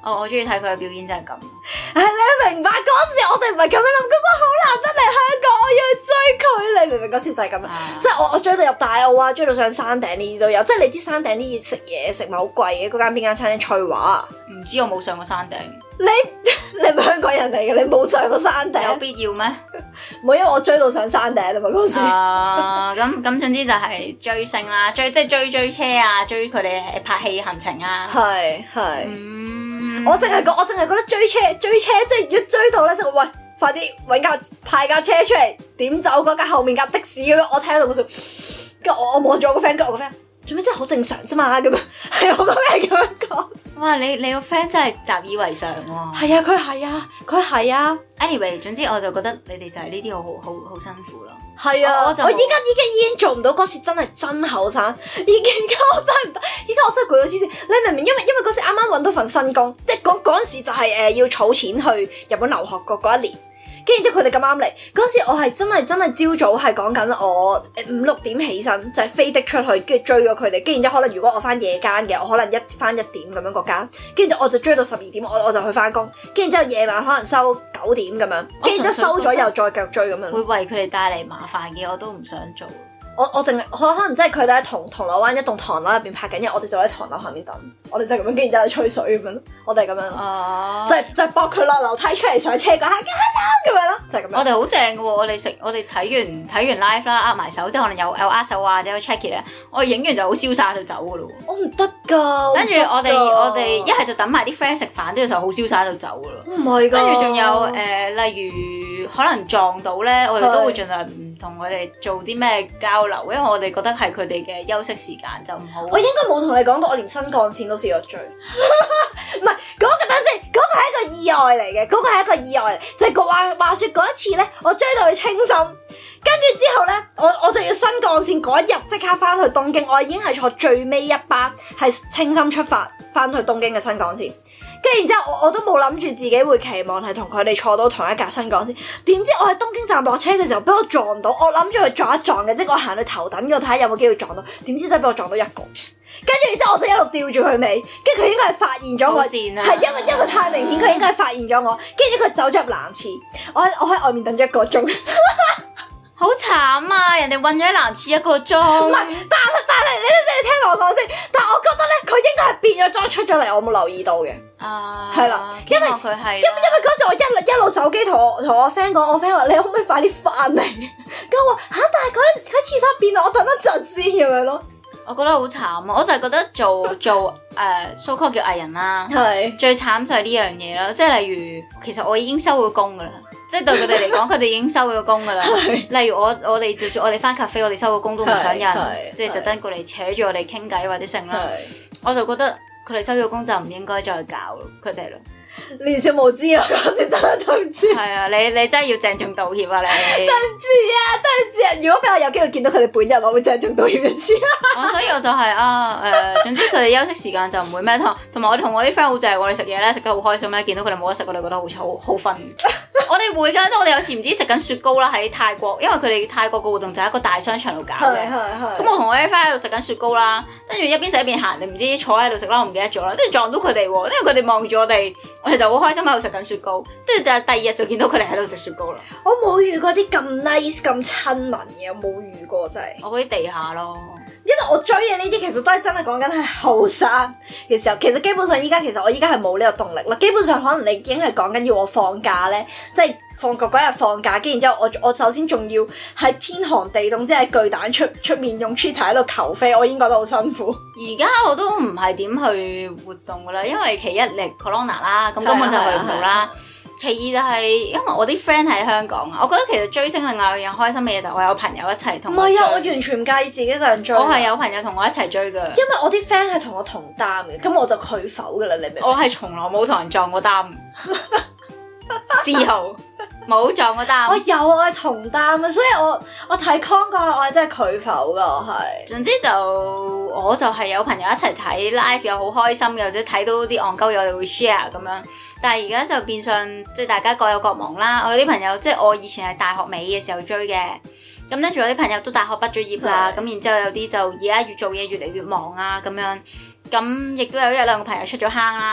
哦，我中意睇佢嘅表演就係咁。
係你明白嗰時我哋唔係咁樣諗，嗰個好難得嚟香港，我要去追佢，你明唔明？嗰時就係咁樣，啊、即係我我追到入大澳啊，追到上山頂呢啲都有。即係你知山頂啲食嘢食咪好貴嘅，嗰間邊間餐廳翠華。唔知我冇上過山頂。你你係香港人嚟嘅，你冇上過山頂？有必要咩？冇，因為我追到上山頂啊嘛嗰時。啊，咁咁總之就係追星啦，追即係追追車啊，追佢哋拍戲行程啊。係係。嗯，我淨係覺我淨係覺得追車追車即係一追到咧就喂，快啲搵架派架車出嚟點走嗰架後面架的士咁樣，我聽到好笑。跟住我我望住我個 friend，跟住我個 friend。做咩真係好正常啫嘛咁樣，係我個 friend 咁樣講。哇！你你個 friend 真係習以為常喎。係啊，佢係啊，佢係啊。Anyway，總之我就覺得你哋就係呢啲好好好好辛苦咯。係啊，我就我依家依家已經做唔到嗰時真係真後生，已經我真係唔得。依家我真係攰到黐線。你明唔明？因為因為嗰時啱啱揾到份新工，即係嗰嗰陣時就係、是、誒、呃、要儲錢去日本留學嗰嗰一年。跟住之後佢哋咁啱嚟嗰時，我係真係真係朝早係講緊我五六點起身，就係、是、飛的出去，跟住追咗佢哋。跟住之後可能如果我翻夜間嘅，我可能一翻一點咁樣嗰間。跟住我就追到十二點，我我就去翻工。跟住之後夜晚可能收九點咁樣，跟住之後收咗又再繼續追咁樣。會為佢哋帶嚟麻煩嘅，我都唔想做。我我淨係可可能真係佢哋喺銅銅鑼灣一棟唐樓入邊拍緊嘢，我哋就喺唐樓下面等，我哋就咁樣，跟住之後吹水咁樣，我哋咁樣，哦、就係、就係搏佢落樓梯出嚟上車嗰下，咁樣咯，就係、是、咁樣。我哋好正嘅喎，我哋食我哋睇完睇完 live 啦，握埋手，即係可能有有握手啊，或者有 check it 咧，我影完就好瀟灑就走嘅咯。我唔得㗎，跟住我哋我哋一係就等埋啲 friend 食飯，跟住就好瀟灑就走嘅咯。唔係㗎，跟住仲有誒、呃，例如可能撞到咧，我哋都會盡量唔同佢哋做啲咩交流，因為我哋覺得係佢哋嘅休息時間就唔好。我應該冇同你講過，我連新幹線都試過追。唔係嗰個，等先，嗰、嗰個係一個意外嚟嘅，嗰、嗰個係一個意外嚟，就係、係、話話説嗰一次咧，我追到去青森，跟住之後咧，我我就要新幹線嗰一日即刻翻去東京，我已經係坐最尾一班係青森出發翻去東京嘅新幹線。跟住然之後，我我都冇諗住自己會期望係同佢哋坐到同一架新幹線。點知我喺東京站落車嘅時候，俾我撞到。我諗住去撞一撞嘅，即係我行去頭等嗰度睇下有冇機會撞到。點知真係俾我撞到一個。跟住然之後，我就一路吊住佢尾。跟住佢應該係發現咗我，係因為因為太明顯，佢應該係發現咗我。跟住佢走咗入男廁，我喺我喺外面等咗一個鐘。好慘啊！人哋韞咗喺男廁一個鐘。唔係，但係但係你你聽我講先。但係我覺得咧，佢應該係變咗裝出咗嚟，我冇留意到嘅。啊，係啦，因為佢係，因因為嗰時我一一路手機同我同我 friend 講，我 friend 話你可唔可以快啲翻嚟？咁我話吓，但係佢喺佢廁所變啦，我等一陣先咁樣咯。我覺得好慘啊！我就係覺得做做誒 so called 叫藝人啦，係最慘就係呢樣嘢啦。即係例如，其實我已經收咗工噶啦。即係對佢哋嚟講，佢哋已經收咗工噶啦。例如我我哋就算我哋翻 cafe，我哋收咗工都唔想有人即係特登過嚟扯住我哋傾偈或者剩啦。我就覺得佢哋收咗工就唔應該再搞佢哋咯。年少無知咯，嗰時真係對唔住。係啊，你你真係要鄭重道歉啊！你對唔住啊，對唔住啊！如果俾我有機會見到佢哋本人，我會鄭重道歉一次。我所以我就係、是、啊誒、呃，總之佢哋休息時間就唔會咩同，同埋我同我啲 friend 好正，我哋食嘢咧食得好開心咧，見到佢哋冇得食，我哋覺得好好好瞓。我哋會㗎，即係我哋有時唔知食緊雪糕啦，喺泰國，因為佢哋泰國嘅活動就喺一個大商場度搞嘅。係係係。咁我同我啲 friend 喺度食緊雪糕啦，跟住一邊食一邊行，你唔知坐喺度食啦，我唔記得咗啦，跟住撞到佢哋喎，因為佢哋望住我哋，我哋就好開心喺度食緊雪糕，跟住第第二日就見到佢哋喺度食雪糕啦。我冇遇過啲咁 nice 咁親民嘅，我冇遇過真係。我嗰啲地下咯。因為我追嘅呢啲其實都係真係講緊係後生嘅時候，其實基本上依家其實我依家係冇呢個動力啦。基本上可能你已經係講緊要我放假咧，即係放學嗰日放假，跟住然之後我我首先仲要喺天寒地凍，即係巨蛋出出面用 Twitter 喺度求飛，我已經覺得好辛苦。而家我都唔係點去活動噶啦，因為其一嚟 Corona 啦，咁根本就去唔到啦。其二就係因為我啲 friend 喺香港啊，我覺得其實追星另外一樣開心嘅嘢就係我有朋友一齊同我追。唔係啊，我完全唔介意自己一個人追。我係有朋友同我一齊追噶。因為我啲 friend 係同我同擔嘅，咁我就拒否噶啦，你明唔明？我係從來冇同人撞過擔，自豪冇撞過擔。我有，我係同擔啊，所以我我睇 con 嗰下我係真係拒否噶，我係。總之就我就係有朋友一齊睇 live 又好開心嘅，或者睇到啲戇鳩嘢我哋會 share 咁樣。但係而家就變相即係大家各有各忙啦。我有啲朋友即係我以前係大學尾嘅時候追嘅，咁咧仲有啲朋友都大學畢咗業啦，咁然之後有啲就而家越做嘢越嚟越忙啊咁樣，咁亦都有一兩個朋友出咗坑啦。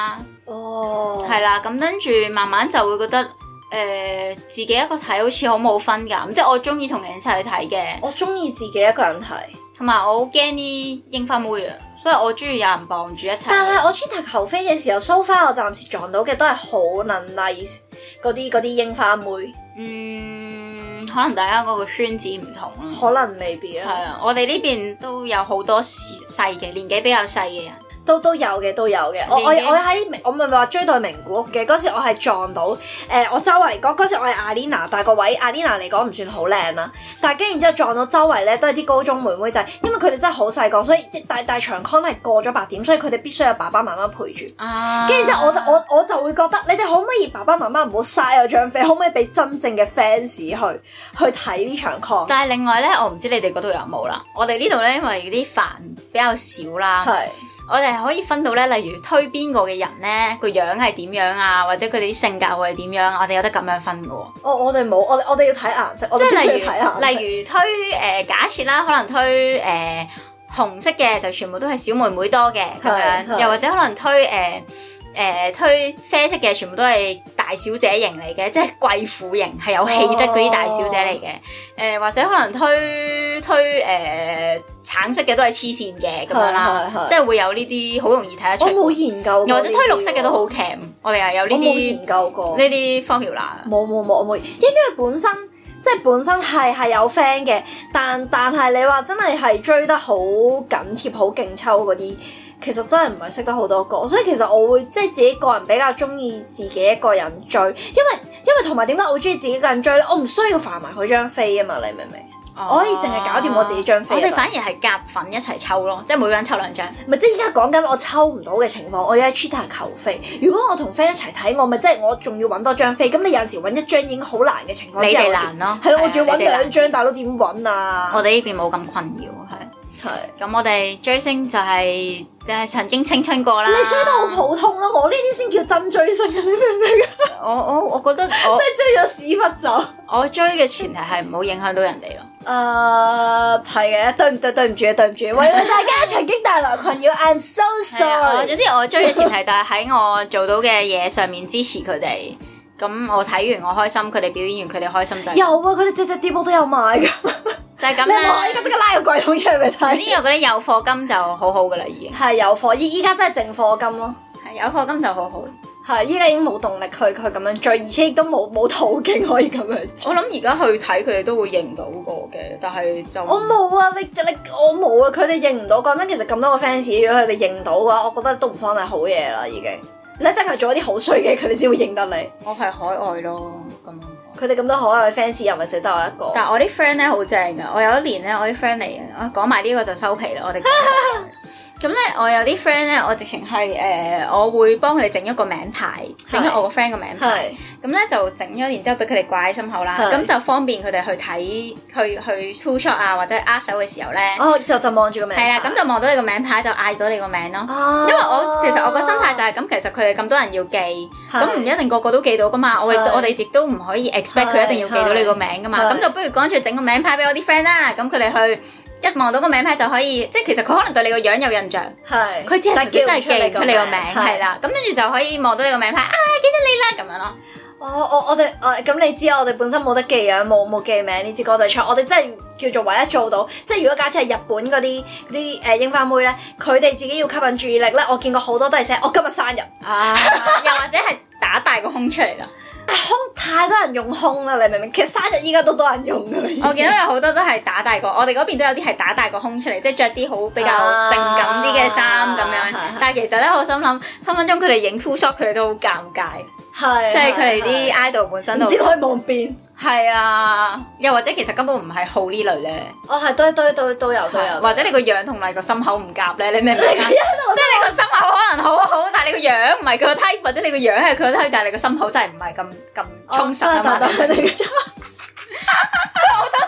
哦，
係啦，咁跟住慢慢就會覺得誒、呃、自己一個睇好似好冇分㗎，即係我中意同人一齊去睇嘅。
我中意自己一個人睇，同
埋我好驚啲櫻花妹啊，所以我中意有人傍住一齊。
但係我 cheetah 求飛嘅時候，so far 我暫時撞到嘅都係好能 nice 嗰啲嗰啲櫻花妹。
嗯，可能大家嗰個圈子唔同咯，
可能未必啦。
係啊，我哋呢邊都有好多細嘅年紀比較細嘅人。
都都有嘅，都有嘅。我我我喺我咪咪話追到名古屋嘅嗰時，我係撞到誒、呃，我周圍嗰嗰時我係阿 Lina，但係個位阿 Lina 嚟講唔算好靚啦。但係跟然之後撞到周圍咧都係啲高中妹妹仔，因為佢哋真係好細個，所以大大場 con 係過咗八點，所以佢哋必須有爸爸媽媽陪住。啊！跟住之後我就我我就會覺得，你哋可唔可以爸爸媽媽唔好嘥我張飛，可唔可以俾真正嘅 fans 去去睇呢場 con？
但係另外咧，我唔知你哋嗰度有冇啦。我哋呢度咧，因為啲飯比較少啦。係。我哋係可以分到咧，例如推邊個嘅人咧，個樣係點樣啊，或者佢哋啲性格會係點樣，我哋有得咁樣分嘅喎。
哦，我哋冇，我我哋要睇顏色，
即係例如
例
如推誒、呃、假設啦，可能推誒、呃、紅色嘅就全部都係小妹妹多嘅咁樣，又或者可能推誒。呃誒、呃、推啡色嘅全部都係大小姐型嚟嘅，即係貴婦型，係有氣質嗰啲大小姐嚟嘅。誒、oh. 呃、或者可能推推誒、呃、橙色嘅都係黐線嘅咁樣啦，即係會有呢啲好容易睇得出。
我冇研究過，
又或者推綠色嘅都好 cam，我哋係有呢啲
研究過
呢啲 formula。冇
冇冇，我冇，因為本身即係本身係係有 friend 嘅，但但係你話真係係追得好緊貼、好勁抽嗰啲。其實真係唔係識得好多個，所以其實我會即係自己個人比較中意自己一個人追，因為因為同埋點解我會中意自己一個人追咧？我唔需要煩埋佢張飛啊嘛，你明唔明？哦、我可以淨係搞掂我自己張飛。
我哋反而係夾份一齊抽咯，即係每個人抽兩張。
唔係即係依家講緊我抽唔到嘅情況，我要喺 cheetah 求飛。如果我同 friend 一齊睇，我咪即係我仲要揾多張飛。咁你有陣時揾一張已經好難嘅情況之下，
你哋難咯。
係咯，我仲要揾兩張，大佬點揾啊？
我哋呢邊冇咁困擾，係。係，咁我哋追星就係誒曾經青春過啦。
你追得好普通咯，我呢啲先叫真追星啊！你明唔明啊？
我我我覺得我
即係追咗屎忽走。
我追嘅前提係唔好影響到人哋咯。
誒係嘅，對唔對？對唔住啊，對唔住，為咗大家曾經帶來困擾，I'm so sorry。
總之我追嘅前提就係喺我做到嘅嘢上面支持佢哋。咁我睇完我開心，佢哋表演完佢哋開心就係。
有啊，佢哋隻隻碟我都有買㗎。就係咁啦，你可以即刻拉個櫃桶出嚟俾你睇。
呢個嗰啲有貨金就好好噶啦，已經
係有貨，依依家真係淨貨金咯。
係有貨金就好好。
係依家已經冇動力去去咁樣追，而且亦都冇冇途徑可以咁樣追。
我諗而家去睇佢哋都會認到過嘅，但係就
我冇啊！你你我冇啊！佢哋認唔到。講真，其實咁多個 fans，如果佢哋認到嘅話，我覺得都唔算係好嘢啦，已經。你一定係做一啲好衰嘅，佢哋先會認得你。
我係海外咯，咁。
佢哋咁多可愛嘅 fans 又唔係淨得我一個，
但係我啲 friend 咧好正噶，我有一年咧我啲 friend 嚟嘅，我講埋呢個就收皮啦，我哋咁咧我有啲 friend 咧，我直情係誒，我會幫佢哋整一個名牌，整咗我個 friend 個名牌，咁咧就整咗，然之後俾佢哋掛喺心口啦，咁就方便佢哋去睇，去去 two shot 啊或者握手嘅時候咧，
哦就就望住個名牌，
係啦，咁就望到你個名牌就嗌到你個名咯，哦、因為我其實我個心態就係、是、咁，其實佢哋咁多人要記，咁唔一定個個都記到噶嘛，我我哋亦都唔可以 expect 佢一定要記到你個名噶嘛，咁就不如乾脆整個名牌俾我啲 friend 啦，咁佢哋去。一望到個名牌就可以，即係其實佢可能對你個樣有印象，係佢只係純粹真係記出你個名，係啦，咁跟住就可以望到你個名牌啊，記得你啦咁樣咯。
哦，我我哋誒咁你知我哋本身冇得記樣，冇冇記名呢支歌仔唱，我哋真係叫做唯一做到，即係如果假設係日本嗰啲嗰啲誒櫻花妹咧，佢哋自己要吸引注意力咧，我見過好多都係寫我今日生日啊，
又或者係打大個胸出嚟啦。
胸太多人用胸啦，你明唔明？其實生日依家都多人用噶啦。
我見到有好多都係打大個，我哋嗰邊都有啲係打大個胸出嚟，即係着啲好比較性感啲嘅衫咁樣。啊、但係其實咧，我心諗分分鐘佢哋影 two shot 佢哋都好尷尬，係即係佢哋啲 idol 本身都唔知
可以望邊。係
啊，又或者其實根本唔係好呢類咧。
哦，係都都都都有都有，
或者你個樣同你個心口唔夾咧，你明唔明啊？即係你個心口可能好好，但係你個樣唔係佢個 type，或者你個樣係佢個 type，但係你個心口真係唔係咁咁充實啊嘛。所以我收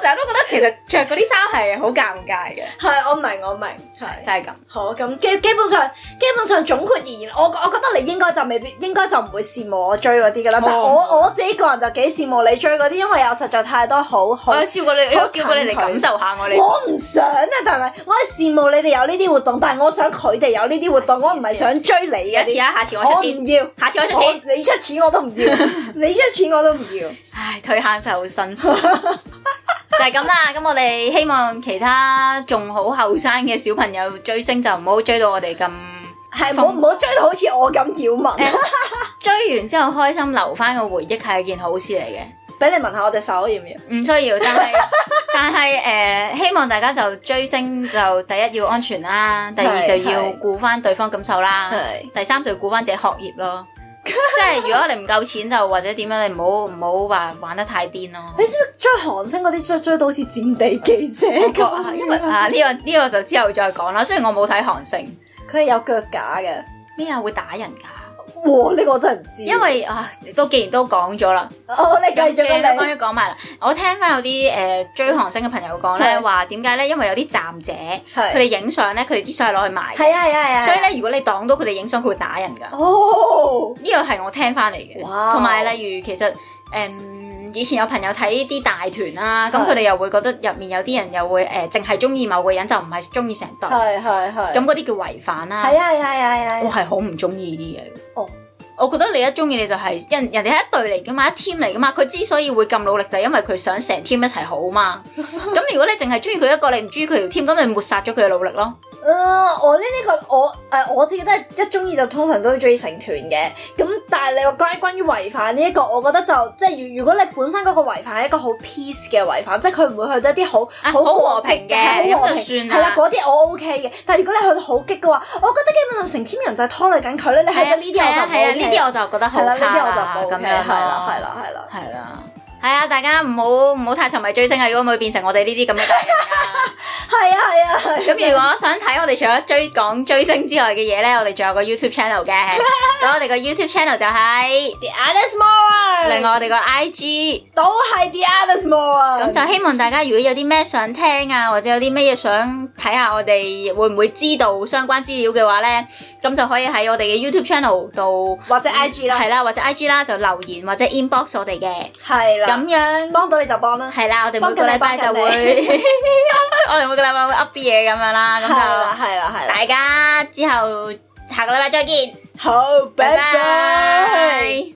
成日都覺得其實着嗰啲衫係好尷尬嘅。
係，我明我明，係
就係咁。
好，咁基基本上基本上總括而言，我我覺得你應該就未必，應該就唔會羨慕我追嗰啲噶啦。但係我我自己個人就幾羨慕你追嗰啲，因為有實在太多好好。我有笑過你，我叫過你嚟感受下我哋。我唔想啊，但係我係羨慕你哋有呢啲活動，但係我想佢哋有呢啲活動，我唔係想追你嘅。下次啊，下次我出錢。我唔要，下次我出錢。你出錢我都唔要，你出錢我都唔要。唉，退坑就好辛苦。就係咁啦，咁我哋希望其他仲好後生嘅小朋友追星就唔好追到我哋咁，係唔好唔好追到好似我咁擾民。欸、追完之後開心留翻個回憶係一件好事嚟嘅。俾你聞下我隻手要唔要？唔需要，但係但係誒、呃，希望大家就追星就第一要安全啦，第二就要顧翻對方感受啦，第三就要顧翻自己學業咯。即係如果你唔夠錢就或者點樣，你唔好唔好話玩得太癲咯。你知唔知追韓星嗰啲追追到好似戰地記者咁？因為啊呢、這個呢、這個就之後再講啦。雖然我冇睇韓星，佢係有腳架嘅。咩啊？會打人噶？哇！呢、這個我真係唔知。因為啊，都既然都講咗啦，哦，你繼續啦，你講一講埋啦。我聽翻有啲誒、呃、追韓星嘅朋友講咧，話點解咧？因為有啲站姐，佢哋影相咧，佢哋啲相係攞去賣。係啊係啊係啊。所以咧，如果你擋到佢哋影相，佢會打人噶。哦，呢個係我聽翻嚟嘅。哇！同埋例如其實誒、嗯，以前有朋友睇啲大團啦，咁佢哋又會覺得入面有啲人又會誒，淨係中意某個人，就唔係中意成隊。係係係。咁嗰啲叫違反啦。係啊係啊係啊。我係好唔中意呢啲嘢。哦。我覺得你一中意你就係、是、人人哋係一隊嚟噶嘛，一 team 嚟噶嘛，佢之所以會咁努力就係因為佢想成 team 一齊好嘛。咁如果你淨係中意佢一個，你唔中意佢條 team，咁你抹殺咗佢嘅努力咯。誒、呃，我呢、這、呢個我誒、呃、我自己都係一中意就通常都會中意成團嘅。咁但係你話關於關於違反呢、這、一個，我覺得就即係如如果你本身嗰個違反係一個好 peace 嘅違反，即係佢唔會去到一啲好好和平嘅，好和平係啦，嗰啲我 OK 嘅。但係如果你去到好激嘅話，我覺得基本上成 team 人就係拖累緊佢咧。你去到呢啲我就唔 OK，呢啲我就覺得好差啦。呢啲我就唔 OK，係啦，係啦，係啦，係啦。係啊，大家唔好唔好太沉迷追星啊！如果唔會變成我哋呢啲咁嘅大人啊。係啊係啊係。咁如果想睇我哋除咗追講追星之外嘅嘢咧，我哋仲有個 YouTube channel 嘅。咁我哋個 YouTube channel 就係 The Honest More。另外我哋個 I G 都係 The Honest More。咁就希望大家如果有啲咩想聽啊，或者有啲咩嘢想睇下我哋會唔會知道相關資料嘅話咧，咁就可以喺我哋嘅 YouTube channel 度或者 I G 啦，係啦，或者 I G 啦就留言或者 inbox 我哋嘅。係啦。咁樣幫到你就幫啦，係啦，我哋每個禮拜就會，我哋每個禮拜會 up 啲嘢咁樣啦，咁就係啦係啦係啦，大家之後下個禮拜再見，好，拜拜。